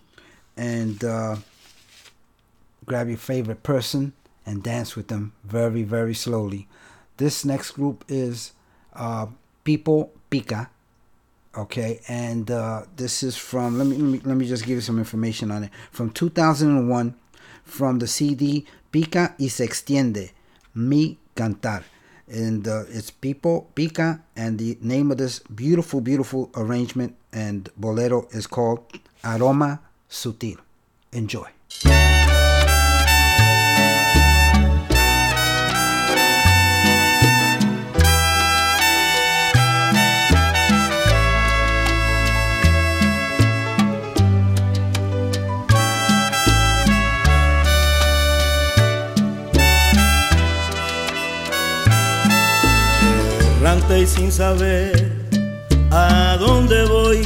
and uh, grab your favorite person and dance with them very, very slowly. This next group is uh, Pipo Pica. Okay, and uh, this is from, let me, let me let me just give you some information on it. From two thousand one, from the C D Pica y se extiende, Mi Cantar. And uh, it's People, Pica, and the name of this beautiful, beautiful arrangement and bolero is called Aroma Sutil. Enjoy. Errante y sin saber a dónde voy,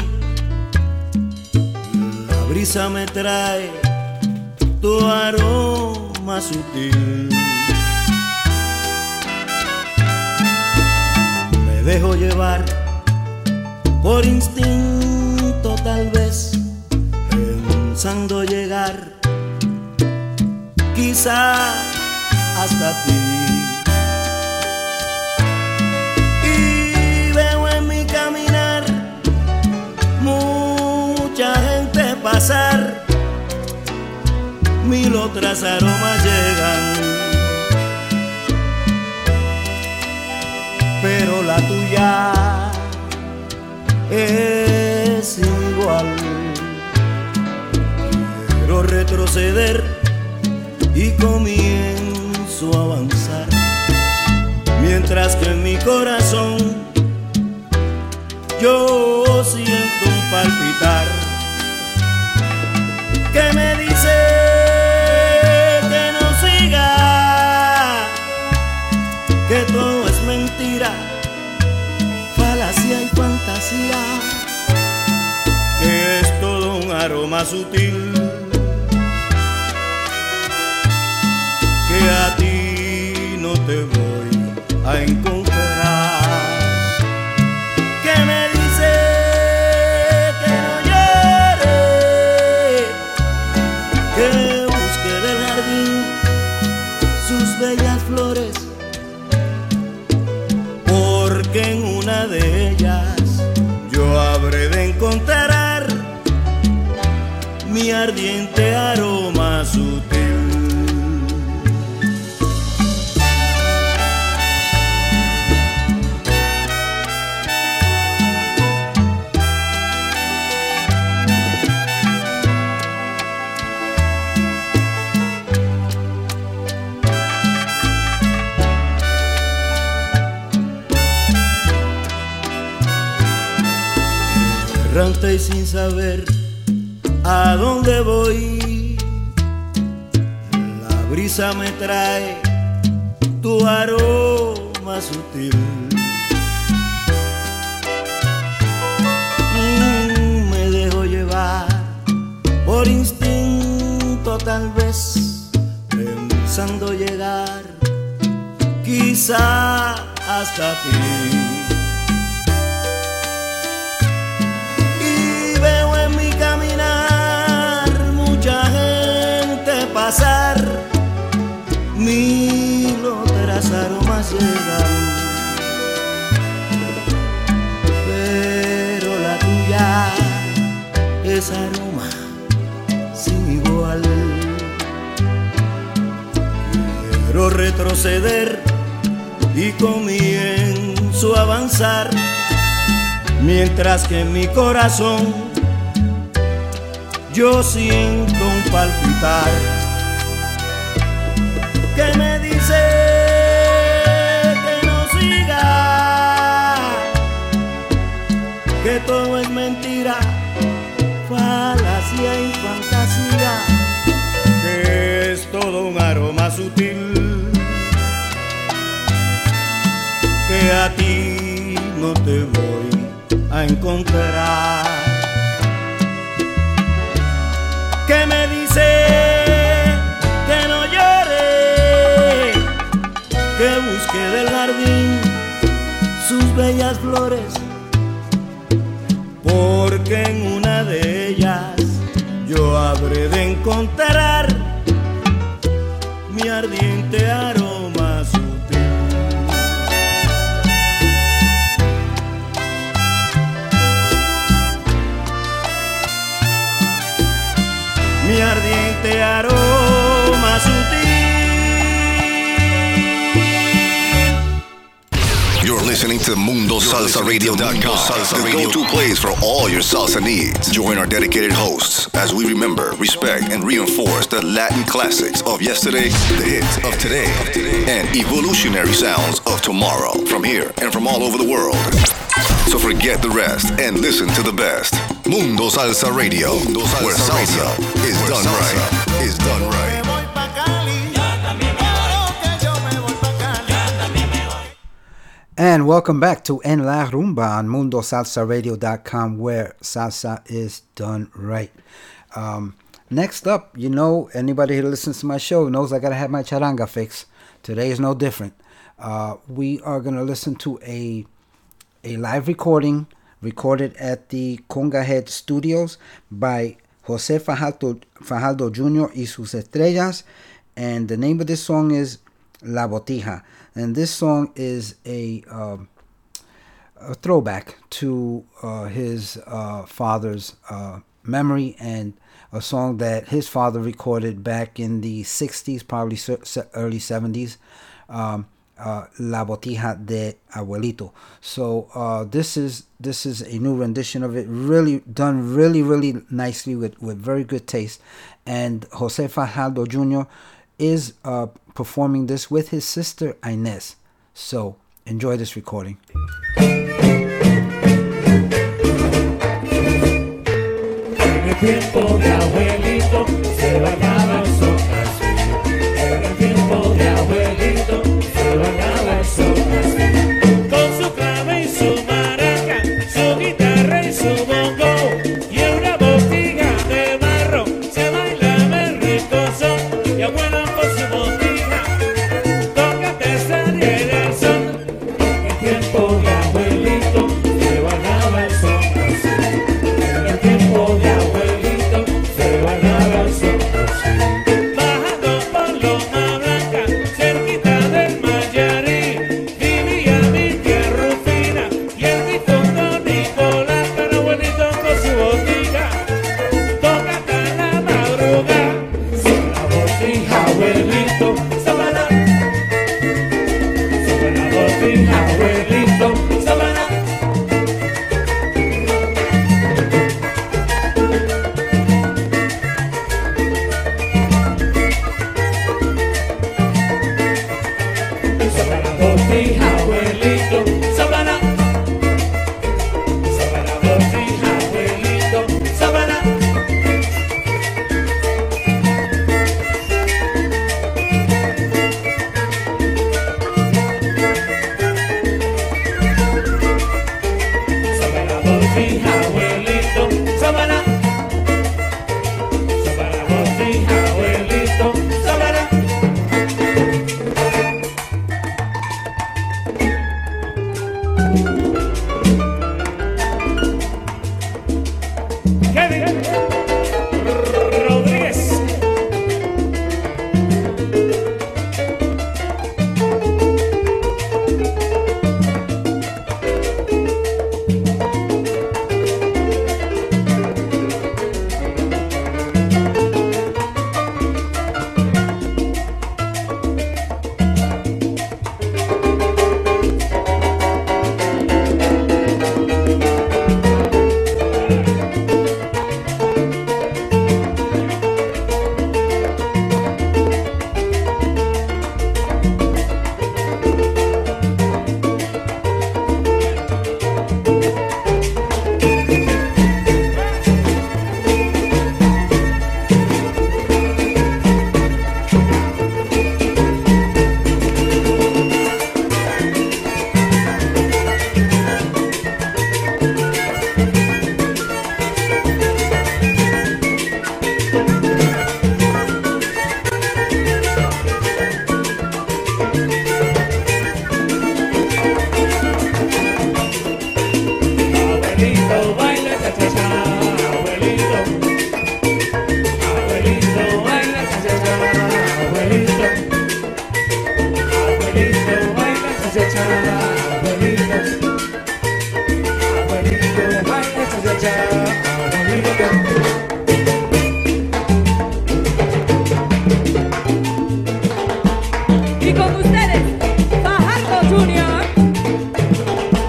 la brisa me trae tu aroma sutil. Me dejo llevar por instinto, tal vez pensando llegar quizá hasta ti. Mucha gente pasar, mil otras aromas llegan, pero la tuya es igual. Quiero retroceder y comienzo a avanzar, mientras que en mi corazón yo siento un palpitar que me dice que no siga, que todo es mentira, falacia y fantasía, que es todo un aroma sutil, que a ti no te voy a encontrar. Bellas flores, porque en una de ellas yo habré de encontrar mi ardiente aroma sutil. Errante y sin saber a dónde voy, la brisa me trae tu aroma sutil. Mm, me dejo llevar por instinto, tal vez pensando llegar quizá hasta ti. Pasar, mil otras aromas llegan, pero la tuya es aroma sin igual. Quiero retroceder y comienzo a avanzar, mientras que en mi corazón yo siento un palpitar que me dice que no siga, que todo es mentira, falacia y fantasía, que es todo un aroma sutil, que a ti no te voy a encontrar, que me dice que no llore, que busque del jardín sus bellas flores, porque en una de ellas yo habré de encontrar mi ardiente aroma sutil. Mi ardiente aroma sutil. to Mundo Salsa Radio dot com, the go-to place for all your salsa needs. Join our dedicated hosts as we remember, respect, and reinforce the Latin classics of yesterday, the hits of today, and evolutionary sounds of tomorrow from here and from all over the world. So forget the rest and listen to the best. Mundo Salsa Radio, Mundo Salsa where salsa Radio. is where done salsa right. Is done right. And welcome back to En La Rumba on Mundo Salsa Radio dot com, where salsa is done right. Um, next up, you know, anybody who listens to my show knows I gotta have my charanga fix. Today is no different. Uh, we are gonna listen to a a live recording recorded at the Conga Head Studios by Jose Fajardo, Fajardo Junior y sus estrellas, and the name of this song is La Botija. And this song is a, uh, a throwback to uh, his uh, father's uh, memory, and a song that his father recorded back in the sixties, probably early seventies, um, uh, La Botija de Abuelito. So uh, this is this is a new rendition of it, really done really, really nicely with, with very good taste. And Jose Fajardo Junior is uh, performing this with his sister Inez. So enjoy this recording. En el tiempo de abuelito se bailaba el son así. En el tiempo de abuelito se bailaba el son así. Con su clave y su maraca, su guitarra y su bongo, y una botija de barro se bailaba el rico son. Y abuela con su botija tócate esa el son. En el tiempo de abuelito se bailaba el son así. En el tiempo de abuelito se bailaba el son así. Bajando por Loma Blanca, cerquita del Mayarí, vivía mi tía Rufina y el difunto Nicolás, con abuelito con su botija toca hasta la madrugada. Sobre la botija, abuelito, sábana. Sobre la botija, abuelito, sábana. Sobre la botija, abuelito, sábana. Sobre la botija, abuelito, sábana. Sobre la botija, abuelito, sábana. Sobre la botija, abuelito, sábana. Kevin Rodríguez. Abuelito, baila cha-cha-cha, abuelito. Abuelito, baila cha-cha-cha, abuelito. Abuelito, baila cha-cha-cha, abuelito. Abuelito, baila cha-cha-cha, abuelito. Y con ustedes, Fajardo Junior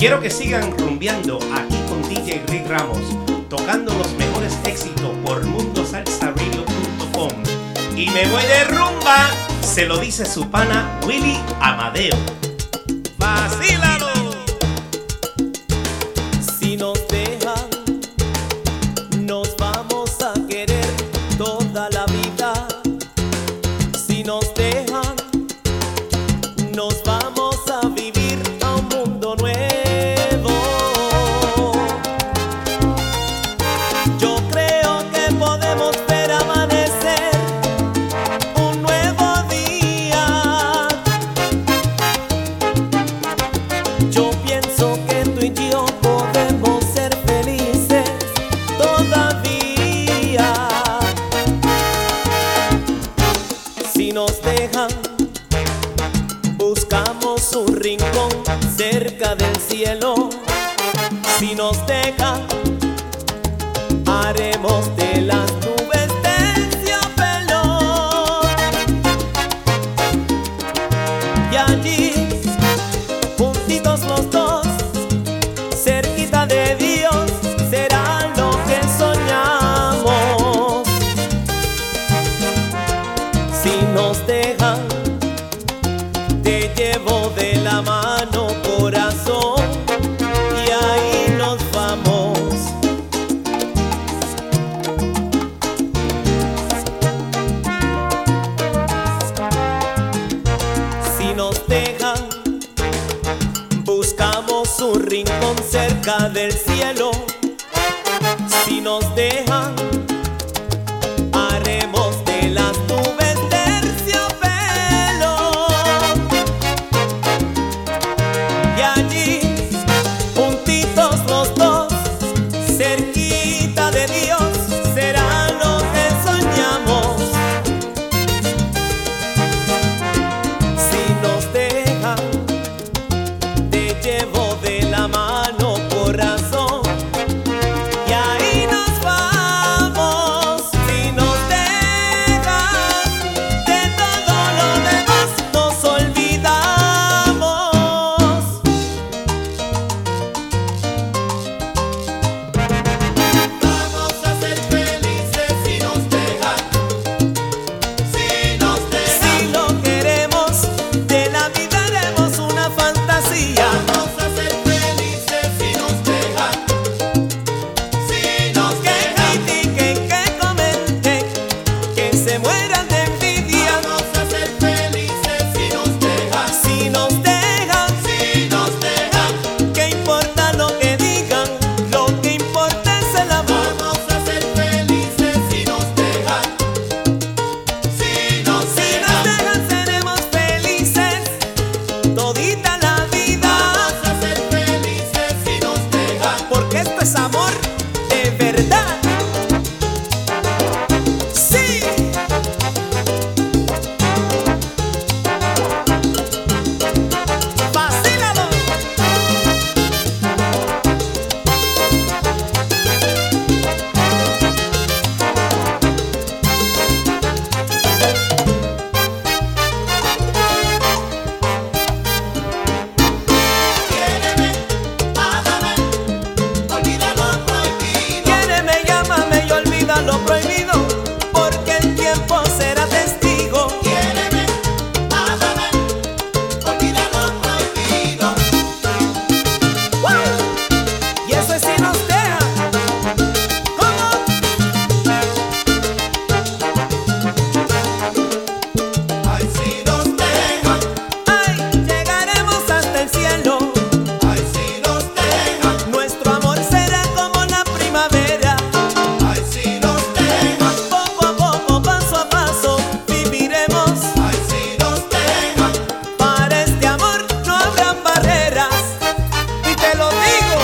Quiero que sigan rumbeando aquí con D J Rick Ramos, tocando los mejores éxitos por mundo salsa radio punto com. Y me voy de rumba, se lo dice su pana Willy Amadeo. ¡Vacílalo! Si nos dejan, nos vamos a querer toda la vida. Si nos dejan, nos vamos a vivir a un mundo nuevo. Yo creo que podemos ver amanecer un nuevo día. Yo pienso que tú y yo podemos ser felices todavía. Si nos dejan, buscamos un rincón cerca del cielo. Si nos dejan, haremos de las nubes terciopelo. Y allí, juntitos los dos, cerquita de Dios, será lo que soñamos. Si nos dejan, te llevo de la mano, corazón, y ahí nos vamos. Si nos dejan, buscamos un rincón cerca del cielo. Si nos dejan, haremos de las nubes terciopelo. Y allí, juntitos los dos, cerquita de Dios, será lo que soñamos. Si nos dejan, te llevo de la mano, corazón, y ahí nos vamos. Si nos dejan, de todo lo demás nos olvidamos. Vamos a ser felices si nos dejan. Si nos dejan. Si lo queremos, de la vida haremos una fantasía. Vamos a ser felices si nos dejan. Si nos Que dejan. critiquen, que comenten, que se mueran de envidia. Vamos a ser felices si nos dejan. Si nos dejan, Si nos dejan. ¿qué importa lo que digan? Lo que importa es el amor. Vamos a ser felices si nos dejan. Si nos Si nos dejan. dejan, seremos felices todita la vida. Vamos a ser felices si nos dejan. Porque esto es amor de verdad. Sí. Vacílalo. Quiéreme, ámame, olvida lo prohibido. Quiéreme, llámame y olvida lo prohibido, porque el tiempo será testigo. Quiéreme, ámame, olvida lo prohibido. Y eso es si nos deja. ¿Cómo? Ay, si nos dejan. Ay, llegaremos hasta el cielo. Ay, si nos dejan. Nuestro amor será como la primavera. Ay, si nos dejan. Poco a poco, paso a paso, viviremos. Ay, si nos dejan. Para este amor no habrán barreras. Y te lo digo.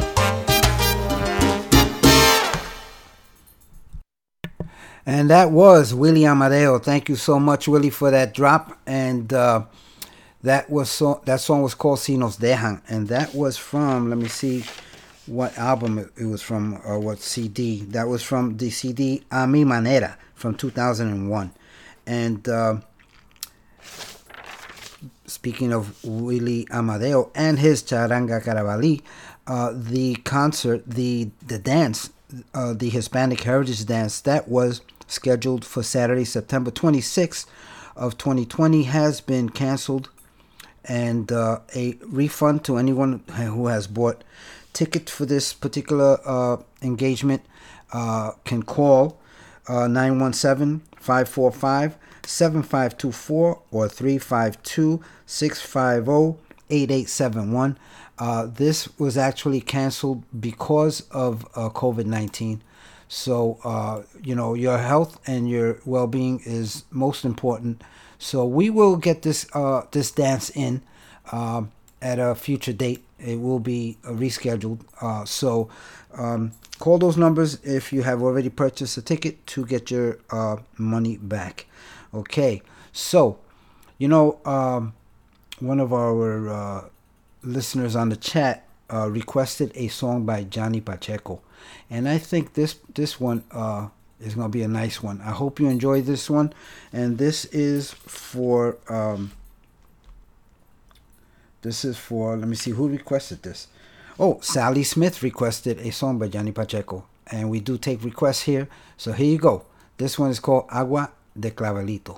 And that was Willie Amadeo. Thank you so much, Willie, for that drop. And uh, that was so that song was called Si Nos Dejan, and that was from, let me see what album it, it was from, or what C D. That was from the C D A Mi Manera from two thousand one. And uh, speaking of Willie Amadeo and his Charanga Carabalí, uh, the concert, the the dance, uh, the Hispanic Heritage Dance that was scheduled for Saturday, September twenty-sixth of twenty twenty has been canceled, and uh, a refund to anyone who has bought tickets for this particular uh, engagement uh, can call uh, nine one seven, five four five, seven five two four or three five two, six five zero, eight eight seven one. Uh, this was actually canceled because of uh, COVID nineteen. So, uh, you know, your health and your well-being is most important. So we will get this uh, this dance in uh, at a future date. It will be uh, rescheduled. Uh, so um, call those numbers if you have already purchased a ticket to get your uh, money back. Okay. So, you know, um, one of our uh, listeners on the chat uh, requested a song by Johnny Pacheco. And I think this this one uh, is going to be a nice one. I hope you enjoy this one. And this is for... Um, This is for, let me see, who requested this? Oh, Sally Smith requested a song by Johnny Pacheco. And we do take requests here. So here you go. This one is called Agua de Clavelito.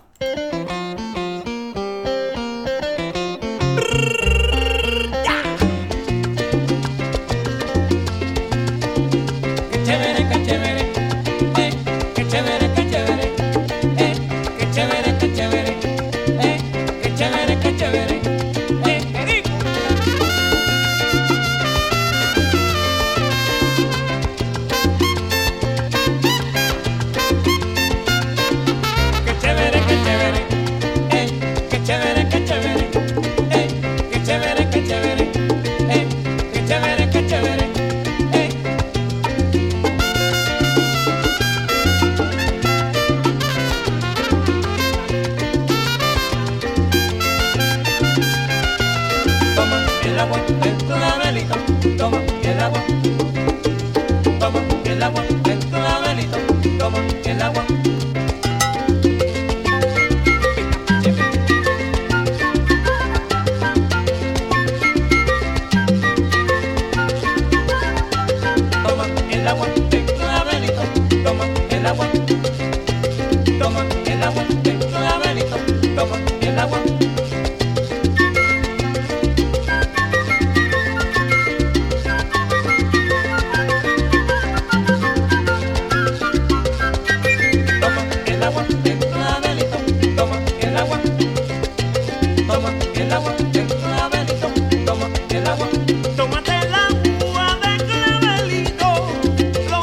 Tómate el agua de clavelito, lo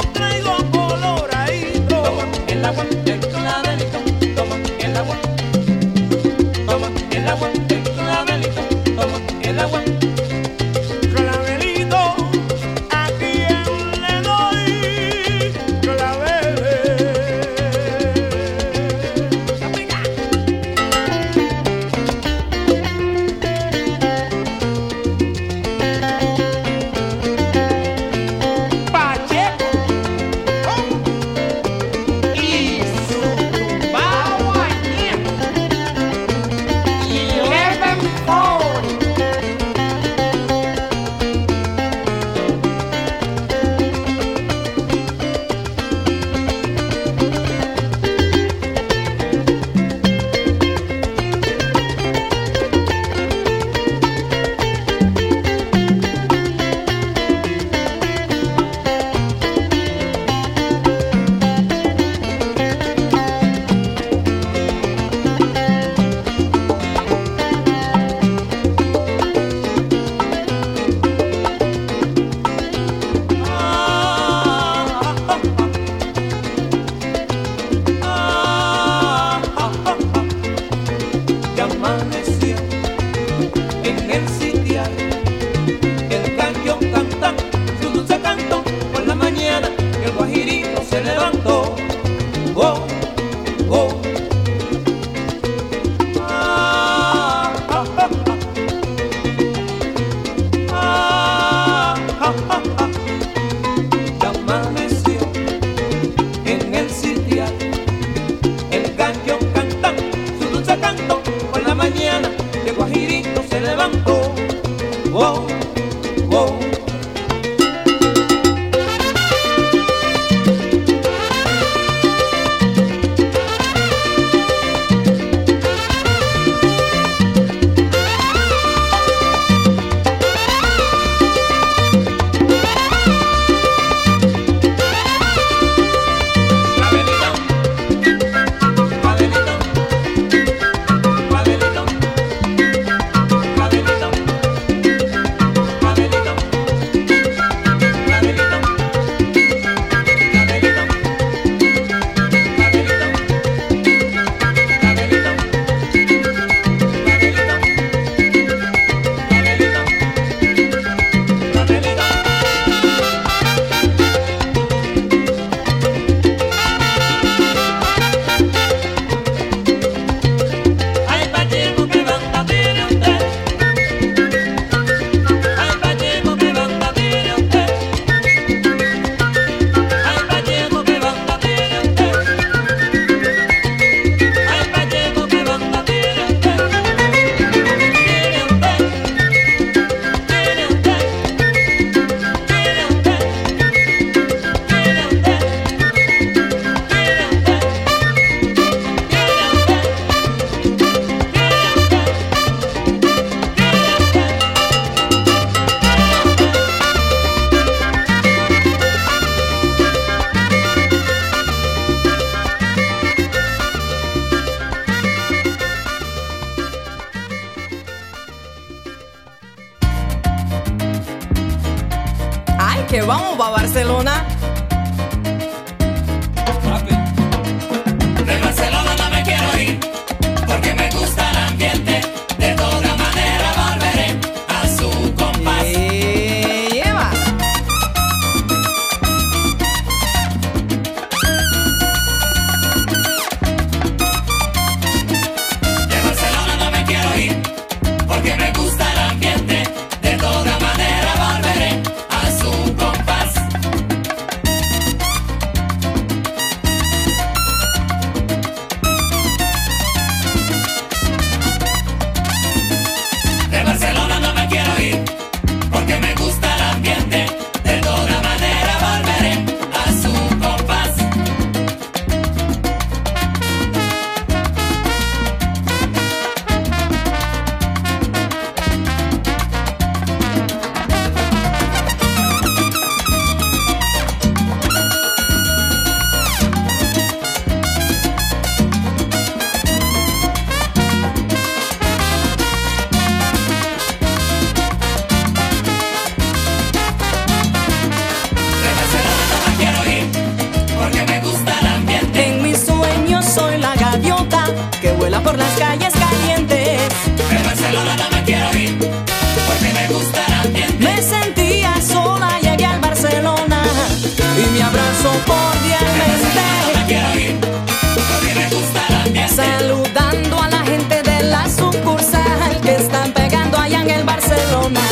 por las calles calientes. De Barcelona no me quiero ir, porque me gusta el ambiente. Me sentía sola, llegué al Barcelona y me abrazó cordialmente. No me quiero ir, porque me gusta el ambiente. Saludando a la gente de la sucursal que están pegando allá en el Barcelona.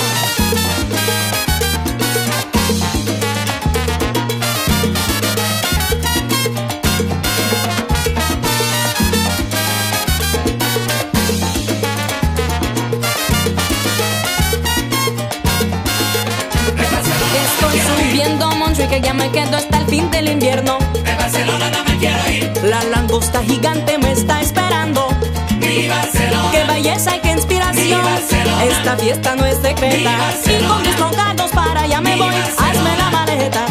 Estoy subiendo a Montjuic, que ya me quedo hasta el fin del invierno. De Barcelona no me quiero ir. La langosta gigante me está esperando. Mi Barcelona. Qué belleza y qué inspiración. Mi Barcelona. Esta fiesta no es Mi secreta. Barcelona. Y con mis troncardos para allá me Mi voy. Barcelona. Hazme la maleta.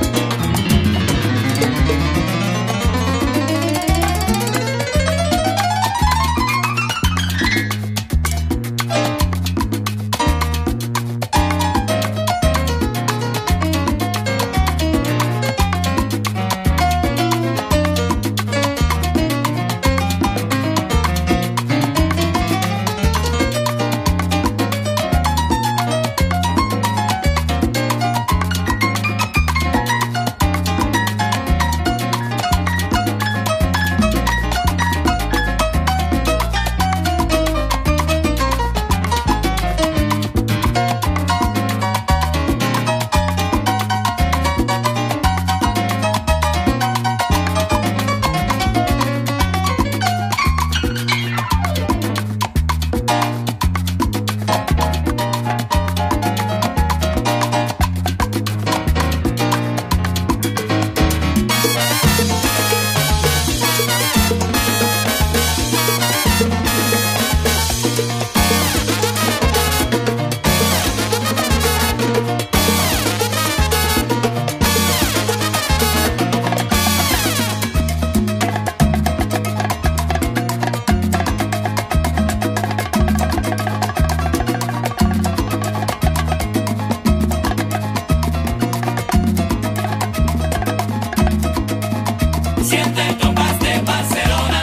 Siente el compás de Barcelona.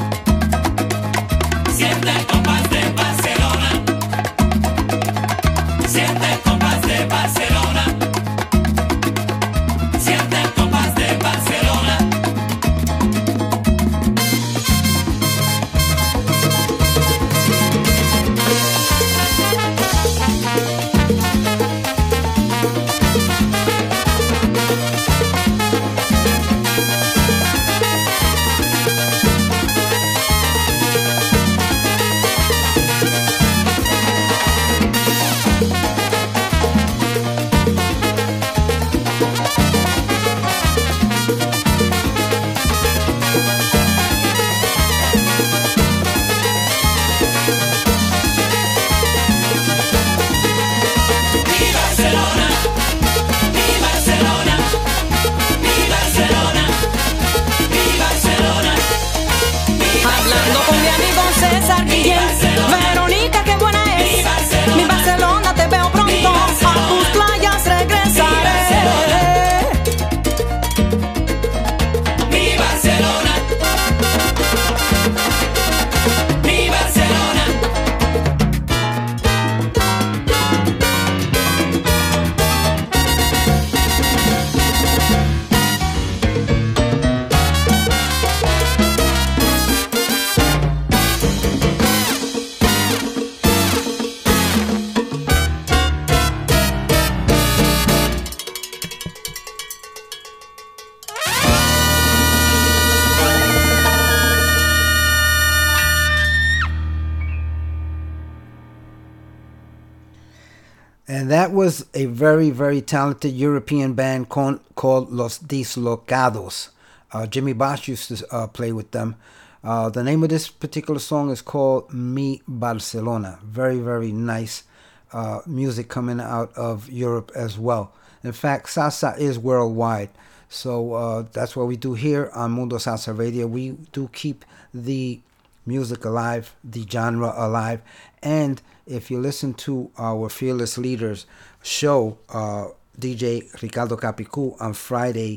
Siente el compás de Barcelona. Siente el compás de Barcelona. Siente el compás de Barcelona. Mi Barcelona, mi Barcelona, mi Barcelona, mi Barcelona, mi Hablando con mi amigo César Guillén. Verónica, qué buena es. Mi Barcelona, te veo pronto. A tus playas regresaré. Mi Barcelona, mi Barcelona. And that was a very, very talented European band con- called Los Dislocados. Uh, Jimmy Bosch used to uh, play with them. Uh, the name of this particular song is called Mi Barcelona. Very, very nice uh, music coming out of Europe as well. In fact, salsa is worldwide. So uh, that's what we do here on Mundo Salsa Radio. We do keep the music alive, the genre alive. And if you listen to our Fearless Leaders show, uh, D J Ricardo Capicu on Friday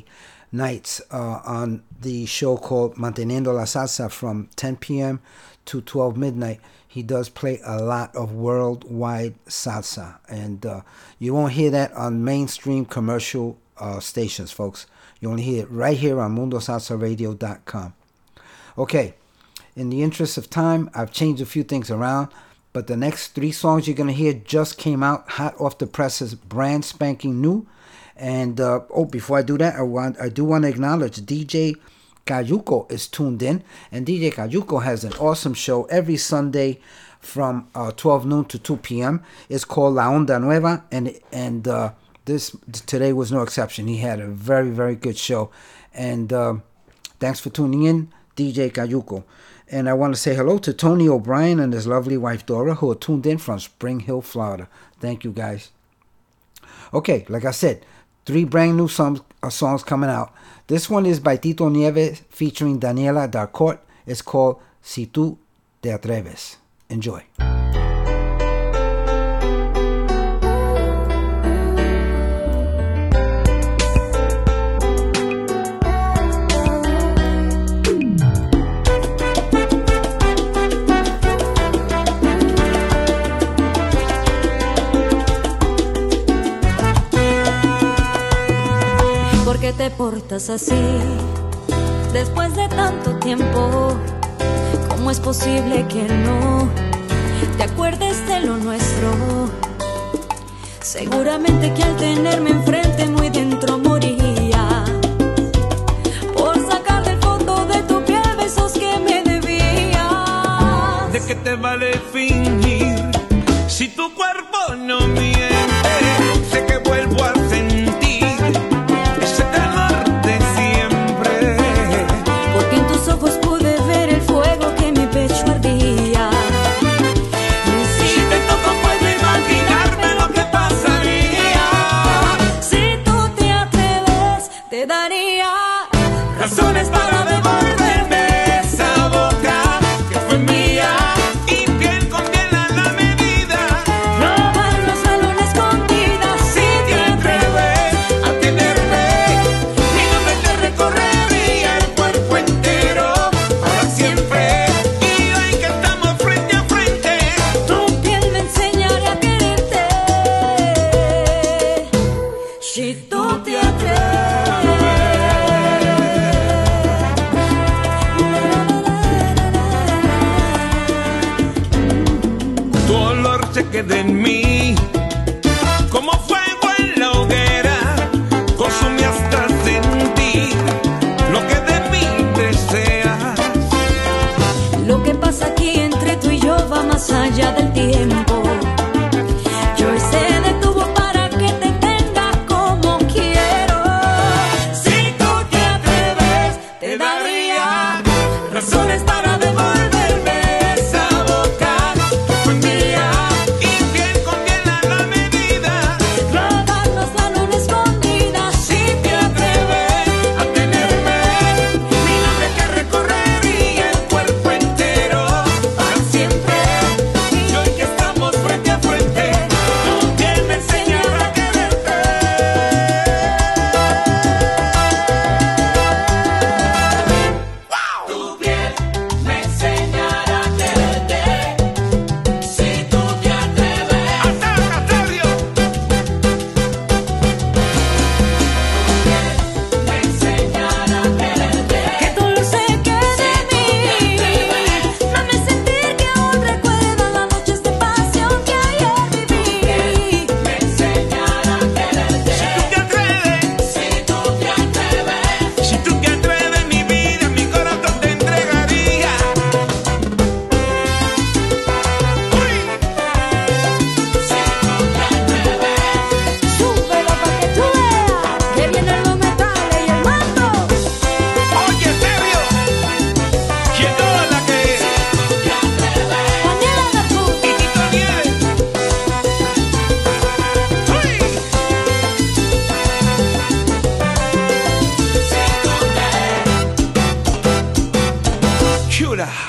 nights uh, on the show called Manteniendo la Salsa from ten p.m. to twelve midnight. He does play a lot of worldwide salsa, and uh, you won't hear that on mainstream commercial uh, stations, folks. You only hear it right here on mundo salsa radio dot com. Okay, in the interest of time, I've changed a few things around, but the next three songs you're going to hear just came out hot off the presses, brand spanking new. And, uh, oh, before I do that, I want I do want to acknowledge D J Cayuco is tuned in, and D J Cayuco has an awesome show every Sunday from uh, twelve noon to two p.m. It's called La Onda Nueva, and and uh, this today was no exception. He had a very, very good show, and uh, thanks for tuning in, D J Cayuco. And I want to say hello to Tony O'Brien and his lovely wife Dora, who are tuned in from Spring Hill, Florida. Thank you, guys. Okay, like I said, three brand new songs, uh, songs coming out. This one is by Tito Nieves featuring Daniela Darcourt. It's called Si Tú Te Atreves. Enjoy. ¿Por qué te portas así después de tanto tiempo? ¿Cómo es posible que no te acuerdes de lo nuestro? Seguramente que al tenerme enfrente muy dentro moría por sacar del fondo de tu piel besos que me debías. ¿De qué te vale fingir si tu cuerpo no miente? Sé que vuelvo a sentir ese calor de siempre, porque en tus ojos pude ver el fuego que en mi pecho ardía. Si te toco puedo imaginarme lo que pasaría. Si tú te atreves, te daría razones para devolverme esa boca que fue mía y piel con piel a la medida. robarnos a lo escondidas. Si te atreves a tenerme, mi nombre te recorrería el cuerpo entero para siempre. Y hoy que estamos frente a frente, Tu piel me enseñará a quererte. Si tú te tu olor se queda en mí como fuego en la hoguera, consume hasta sentir lo que de mí deseas. Lo que pasa aquí entre tú y yo va más allá del tiempo. Yo se detuvo para que te tenga como quiero. Si tú te atreves, te daría razones para devolverme esa boca que fue mía y piel con piel a la medida. robarnos la luna escondida. Si te atreves a tenerme, mi nombre que recorrería el cuerpo entero para siempre. Y hoy que estamos frente a frente, tu piel me enseñará a quererte. Tu piel me enseñará a quererte. Si tú te atreves. ¡Hasta Castario! Me enseñará a quererte. Que todo se quede en mí. Dame sentir que aún recuerdo las noches de pasión que ayer viví. Me enseñará a quererte. Si tú te atreves, si tú te atreves, si tú te atreves, mi vida, mi corazón te entregaría. Uy. Si tú te atreves, Súbelo pa' que tú veas que vienen los metales y el manto. oye, serio, llegó la que es. Daniela Darcourt. Y Tito Nieves. Uy. Chula.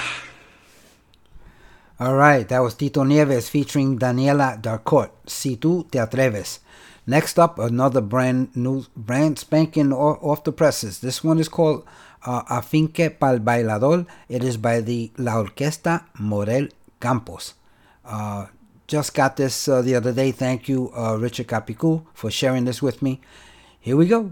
All right, that was Tito Nieves featuring Daniela Darcourt. Si Tú Te Atreves. Next up, another brand new, brand spanking off the presses. This one is called uh, Afinque Pal Bailador. It is by the La Orquesta Morel Campos. Uh, just got this uh, the other day. Thank you, uh, Richard Capicu, for sharing this with me. Here we go.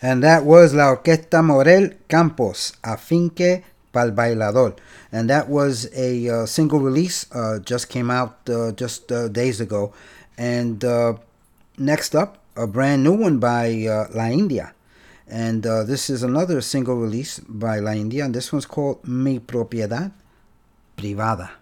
And that was La Orquesta Morel Campos, Afinque Pal Bailador. And that was a uh, single release, uh, just came out uh, just uh, days ago. And uh, next up, a brand new one by uh, La India. And uh, this is another single release by La India, and this one's called Mi Propiedad Privada.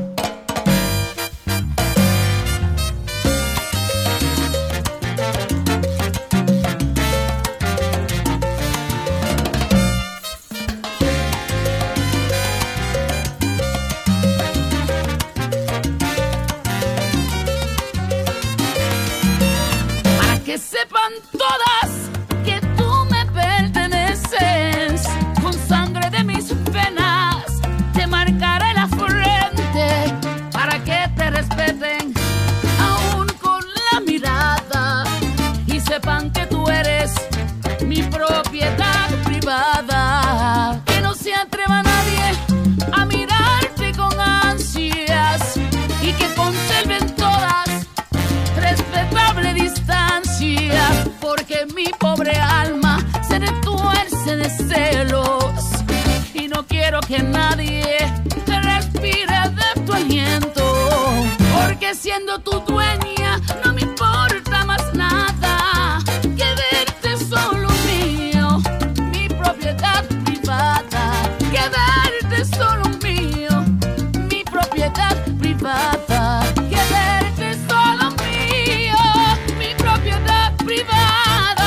Que sepan todas que tú me perteneces, con sangre de mis venas te marcaré la frente para que te respeten aún con la mirada y sepan que tú eres mi propiedad privada. Que no se atreva nadie a mirarte con ansias y que conserven todas respetable distancia, porque mi pobre alma se retuerce de celos y no quiero que nadie respire de tu aliento, porque siendo tu dueña no me importa más nada que verte solo mío, mi propiedad privada, que verte solo mío, mi propiedad privada, que verte solo mío, mi propiedad privada.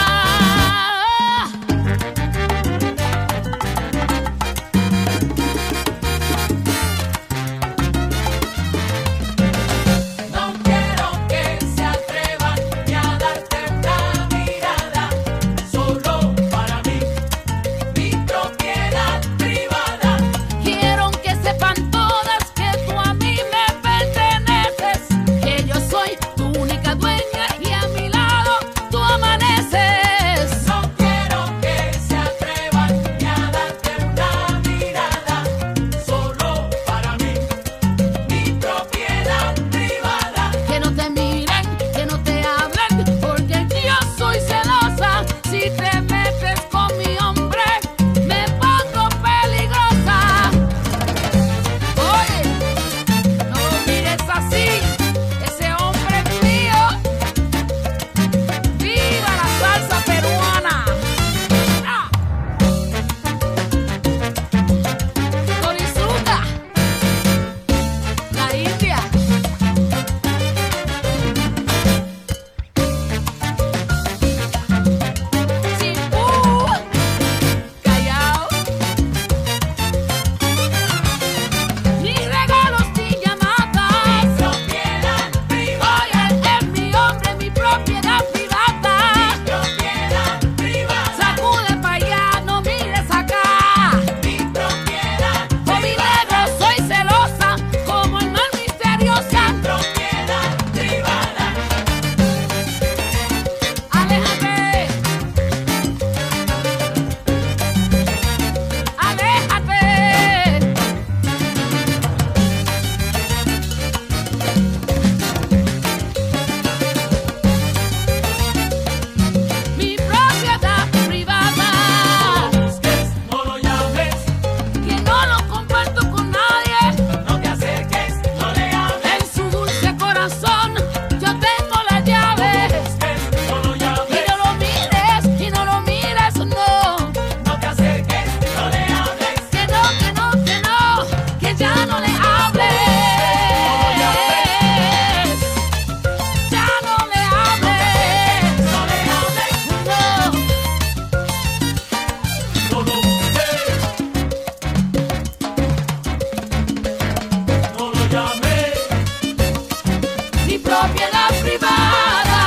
No quiero que se atrevan ni a darte una mirada, solo para mí, mi propiedad privada. Quiero que sepan todas que tú a mí me perteneces, que yo soy tu única dueña y a mi lado tú amaneces. No quiero que se atrevan ni a darte una mirada, solo para mí, mi propiedad privada. Que no te miren, que no te hablen, porque yo soy celosa. Si te metes con mi hombre, me pongo peligrosa. Oye, no lo mires así, ese hombre es mío. ¡Viva la salsa peruana! ¡Ah! Torizuka, la India. Cipú, Callao. Ni regalos ni llamadas. Mi propiedad privada. Oye, es mi hombre, mi propiedad privada. Mi propiedad privada. Sacude pa' allá, no mires acá. Mi propiedad privada. Con mi negro soy celosa, como el mar misteriosa. Mi propiedad privada. Aléjate. Aléjate. Mi propiedad privada. No lo llames, que no lo comparto con nadie. No te acerques, no le hables. En su dulce corazón yo tengo la llave. No lo llames, y no lo mires, y no lo mires, no. No te acerques, no le hables. Que no, que no, que no, que ya no le hables. Ya no le hables. No le hables, no. No lo No lo llames. Mi propiedad privada.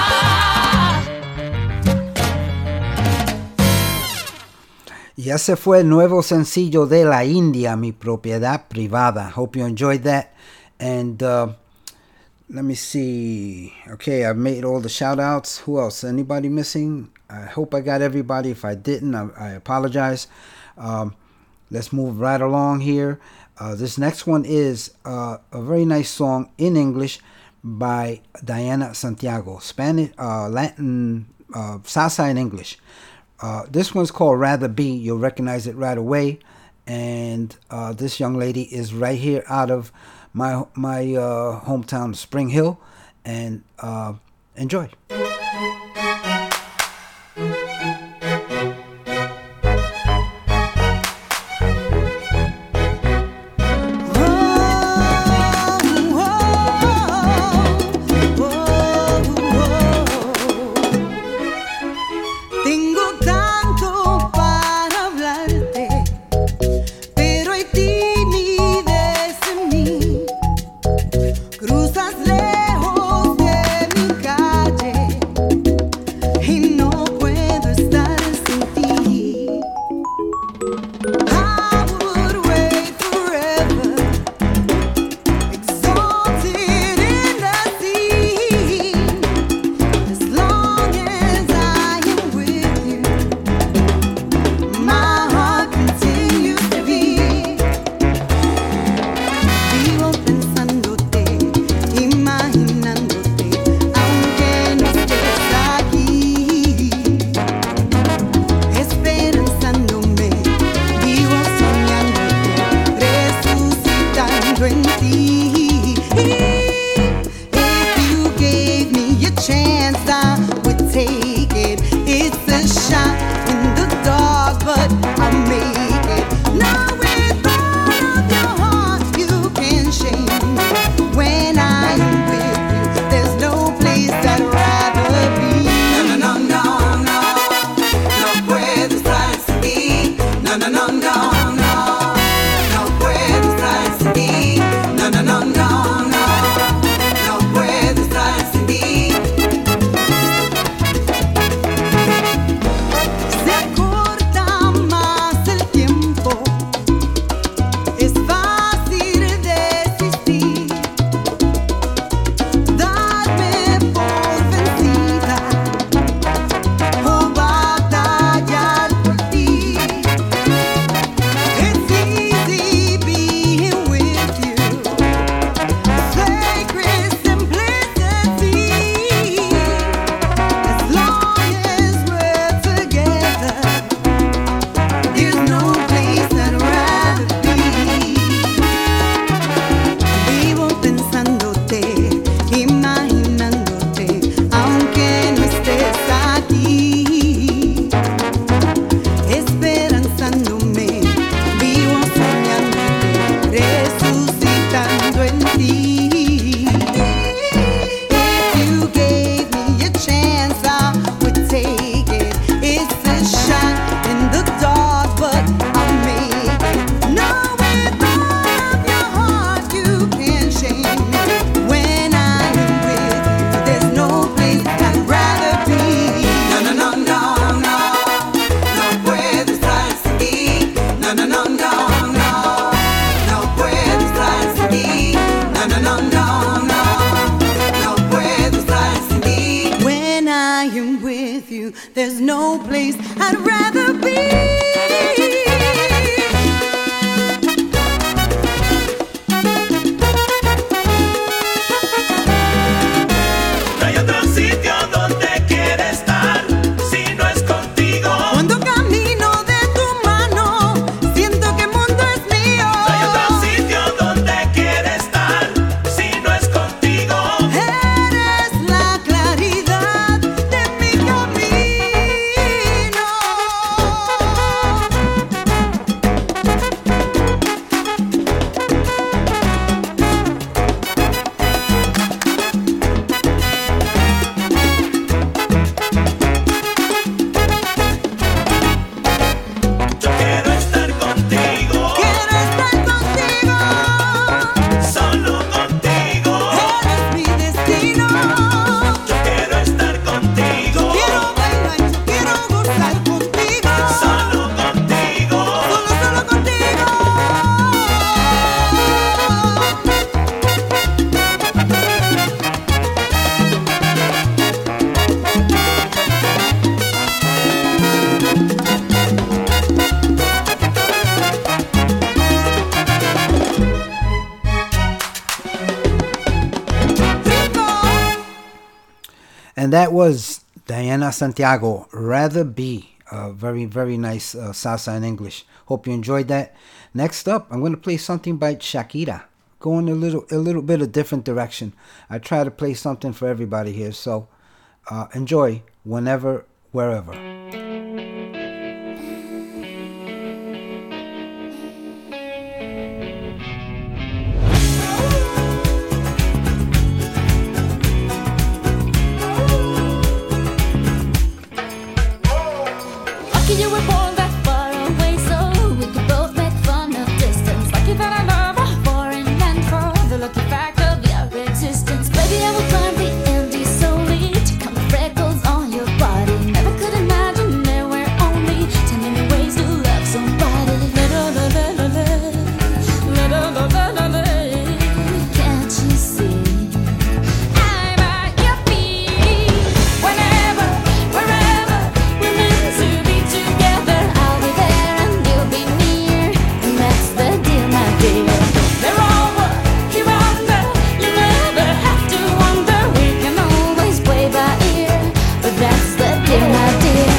Y ese fue el nuevo sencillo de La India, Mi Propiedad Privada. Hope you enjoyed that. And uh, let me see. Okay, I've made all the shout outs. Who else? Anybody missing? I hope I got everybody. If I didn't, I, I apologize. Um, let's move right along here. Uh, this next one is uh, a very nice song in English by Diana Santiago. Spanish, uh, Latin, uh, salsa in English. Uh, this one's called Rather Be. You'll recognize it right away. And uh, this young lady is right here out of my my uh, hometown, Spring Hill. And uh, enjoy. Cruzas lejos de mi calle There's no place I'd rather be. No hay otro sitio donde quiera estar si no es contigo. Cuando camino de tu mano, siento que el mundo es mío. No hay otro sitio donde quiera estar si no es contigo. Eres la claridad de mi camino. Yo quiero estar contigo. Quiero estar contigo. Solo contigo. Eres mi destino. Yo quiero estar contigo. Quiero bailar, yo quiero gozar contigo. Solo contigo. Solo, solo contigo. And that was Diana Santiago, Rather Be. Uh, very, very nice uh, salsa in English. Hope you enjoyed that. Next up, I'm going to play something by Shakira. Going a little, a little bit of different direction. I try to play something for everybody here. So uh, enjoy whenever, wherever. Lucky you were born that far away, so we could both make fun of distance. Lucky that I love her for and meant for the lucky fact of your existence. Baby, I will climb the Andes solely to count the freckles on your body. Never could imagine there were only ten million ways to love somebody. Can't you see? I'm at your feet. Whenever, wherever we're meant to be together, I'll be there and you'll be near, and that's the deal, my dear. They're over, you're under, you never have to wonder. We can always play by ear, but that's the deal, my dear.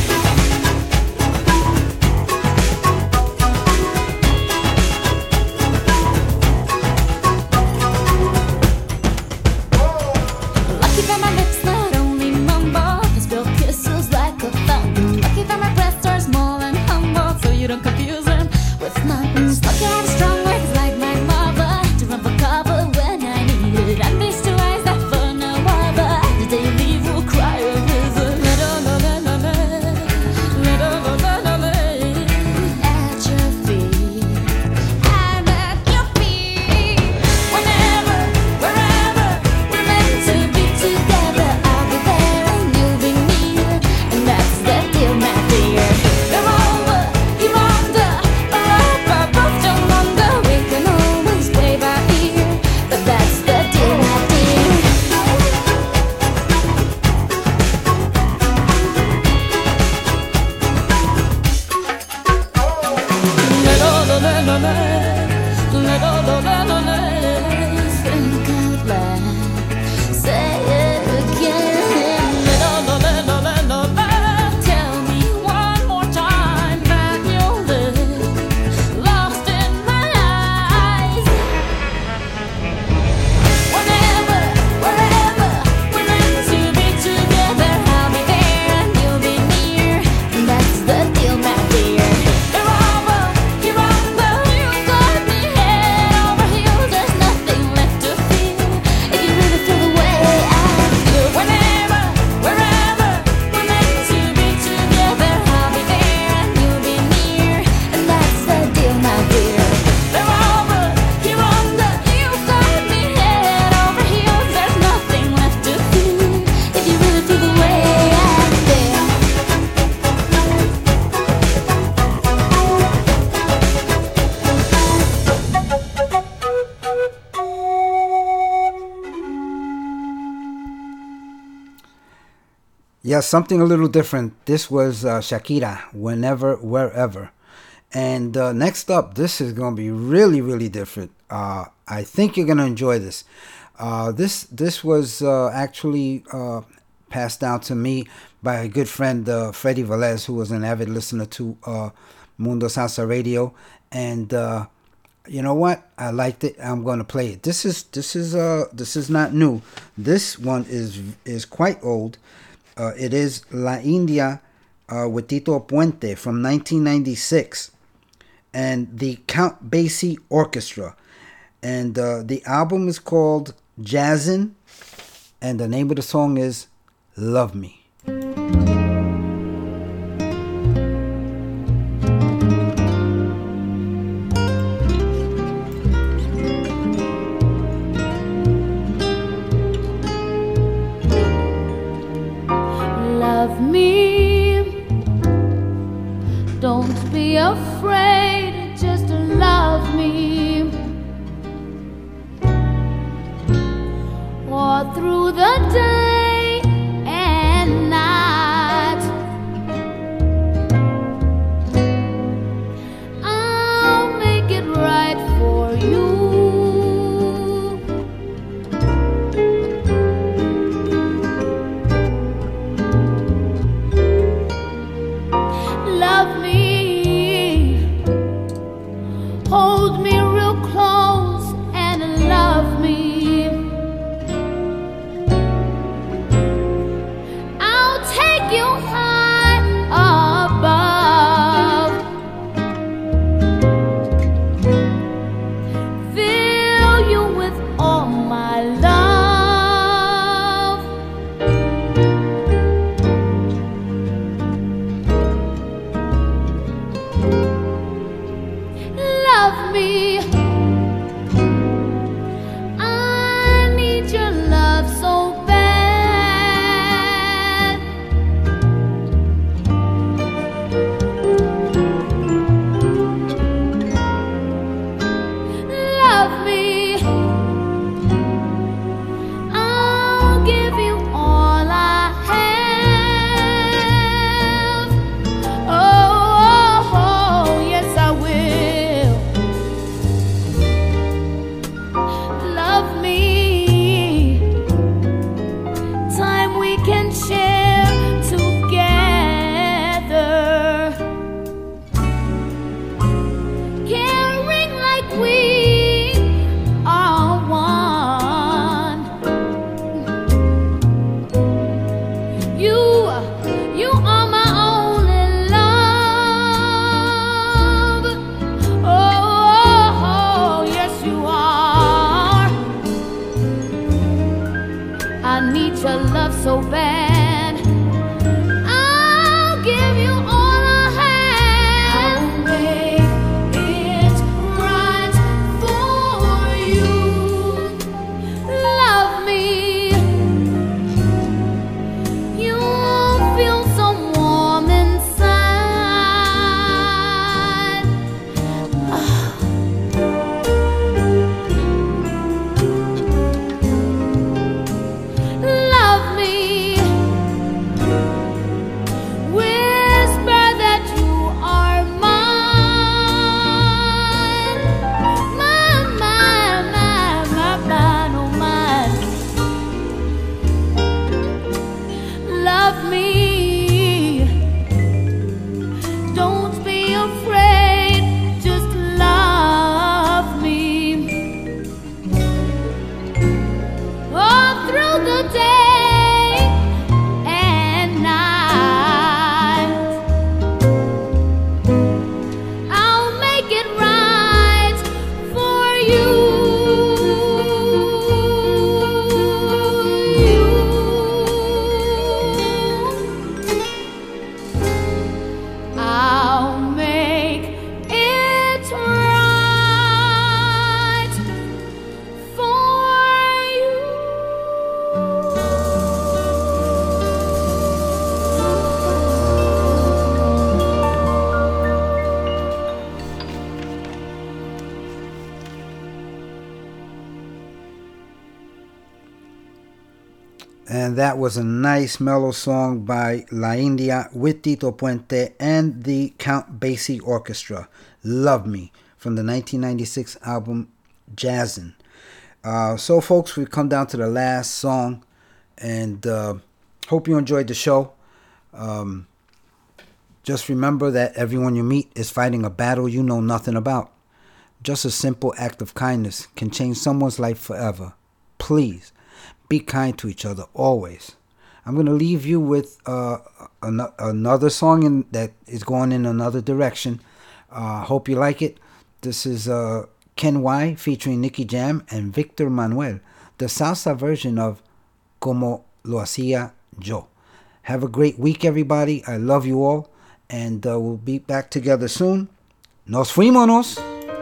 Lucky that my lips not only mumble, can spill kisses like a fountain. Lucky that my breasts are small and humble, so you don't confuse them with nothings. Lucky I have strong words like my mother to run for cover when I need it. And these two eyes that for no other, the day you leave will cry a river. At your feet, I'm at your feet. Whenever, wherever we're meant to be together, I'll be there and you'll be near, and that's the deal, my dear. They're over, you're under, or up, I both don't wonder. We can always play by ear, but that's the deal, my dear. Think out loud, say it again. Tell me one more time that you'll live lost in my eyes. Whenever, wherever we're meant to be together, I'll be there and you'll be near, and that's the deal, my dear. They're over, you're under, you got me head over heels. There's nothing left to feel if you really feel the way I feel. Whenever, wherever we're meant to be together, I'll be there and you'll be near, and that's the deal, my dear. They're over, you're under, you got me head over heels. There's nothing left to feel if you really feel the way I feel. Yeah, something a little different. This was uh, Shakira, Whenever, Wherever. And uh, next up, this is going to be really, really different. Uh, I think you're going to enjoy this. Uh, this this was uh, actually uh, passed down to me by a good friend, uh, Freddie Velez, who was an avid listener to uh, Mundo Salsa Radio. And uh, you know what? I liked it. I'm going to play it. This is this is uh this is not new. This one is is quite old. Uh, it is La India uh, with Tito Puente from nineteen ninety-six, and the Count Basie Orchestra. And uh, the album is called Jazzin', and the name of the song is Love Me. Love me, don't be afraid, just love me. All through the day and And that was a nice mellow song by La India with Tito Puente and the Count Basie Orchestra. Love Me from the nineteen ninety-six album Jazzin'. Uh, so, folks, we've come down to the last song, and uh, hope you enjoyed the show. Um, just remember that everyone you meet is fighting a battle you know nothing about. Just a simple act of kindness can change someone's life forever. Please, be kind to each other always. I'm going to leave you with uh, an- another song in, that is going in another direction. Uh, hope you like it. This is uh, Ken Y featuring Nicky Jam and Victor Manuel, the salsa version of Como Lo Hacía Yo. Have a great week, everybody. I love you all, and uh, we'll be back together soon. Nos fuímonos.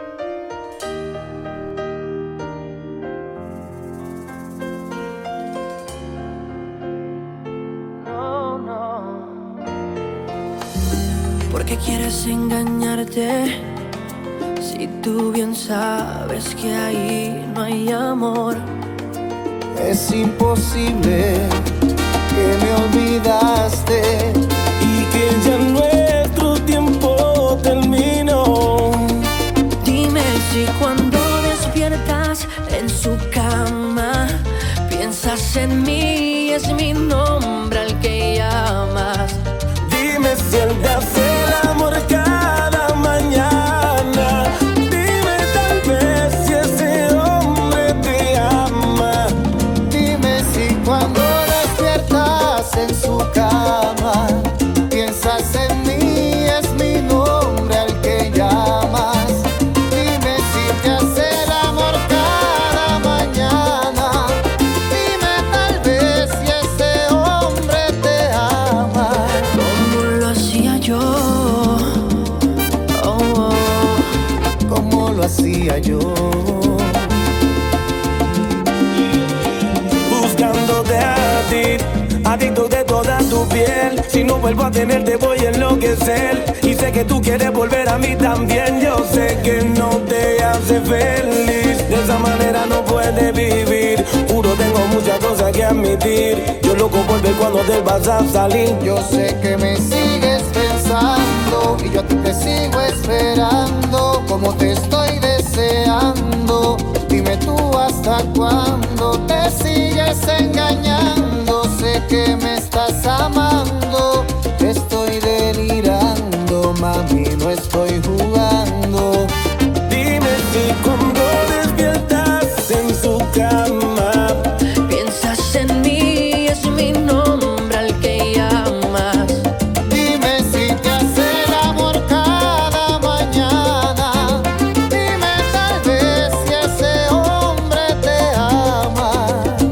¿Por qué quieres engañarte? Si tú bien sabes que ahí no hay amor. Es imposible que me olvidaste y que ya nuestro tiempo terminó. Dime si cuando despiertas en su cama piensas en mí, es mi nombre al que llamas. Dime si él te hace el amor cada mañana. Dime tal vez si ese hombre te ama. Dime si cuando despiertas en su cama piensas en mí, es mi nombre al que llamas. Dime si te hace el amor cada mañana. Dime tal vez si ese hombre te ama. Como lo hacía yo, oh, oh. Como lo hacía yo. Buscándote a ti, adicto de toda tu piel. Si no vuelvo a tenerte voy a enloquecer. Y sé que tú quieres volver a mí también. Yo sé que no te hace feliz. De esa manera no puedes vivir. Juro tengo muchas cosas que admitir. Yo loco por ver cuando te vas a salir. Yo sé que me sigues pensando y yo a ti te sigo esperando. Como te estoy deseando. Dime tú hasta cuándo te sigues engañando. Sé que me estás amando. Estoy delirando, mami, no estoy jugando. Dime si cuando despiertas en su cama Piensas en mí, es mi nombre al que llamas. dime si te hace el amor cada mañana. Dime tal vez si ese hombre te ama.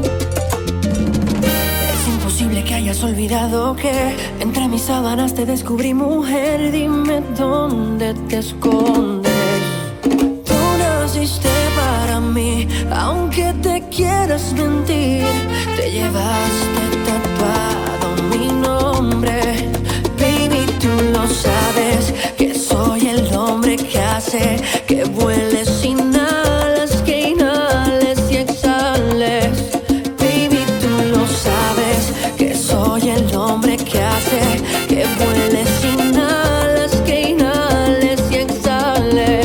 Es imposible que hayas olvidado que entre mis sábanas te descubrí, mujer. Dime dónde te escondes. Tú naciste para mí, aunque te quieras mentir. Te llevaste tatuado mi nombre. Baby, tú lo sabes, que soy el hombre que hace que vueles sin alas, que inhales y exhales. Baby, tú lo sabes, que soy el hombre que hace que vueles sin alas, que inhales y exhales.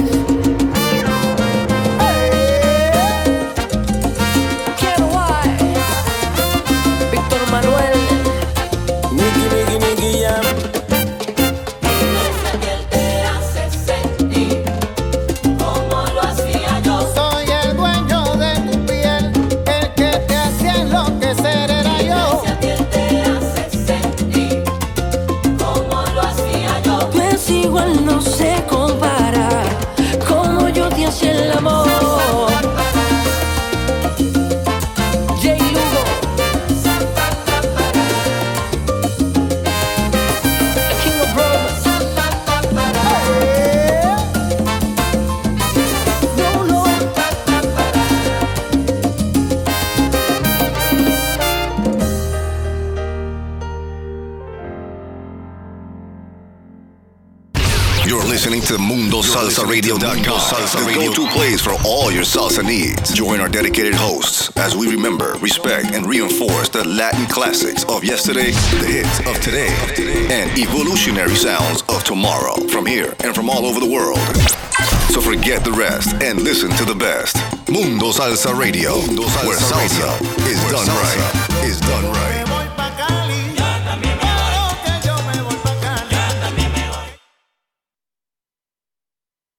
Ken Y, Víctor Manuel, Nicky, Nicky, Nicky Jam. te hace sentir como to Mundo Salsa Radio dot com, the go-to place for all your salsa needs. Join our dedicated hosts as we remember, respect, and reinforce the Latin classics of yesterday, the hits of today, and evolutionary sounds of tomorrow from here and from all over the world. So forget the rest and listen to the best. Mundo Salsa Radio, Mundo Salsa where salsa, Radio. is, where done salsa right. is done right.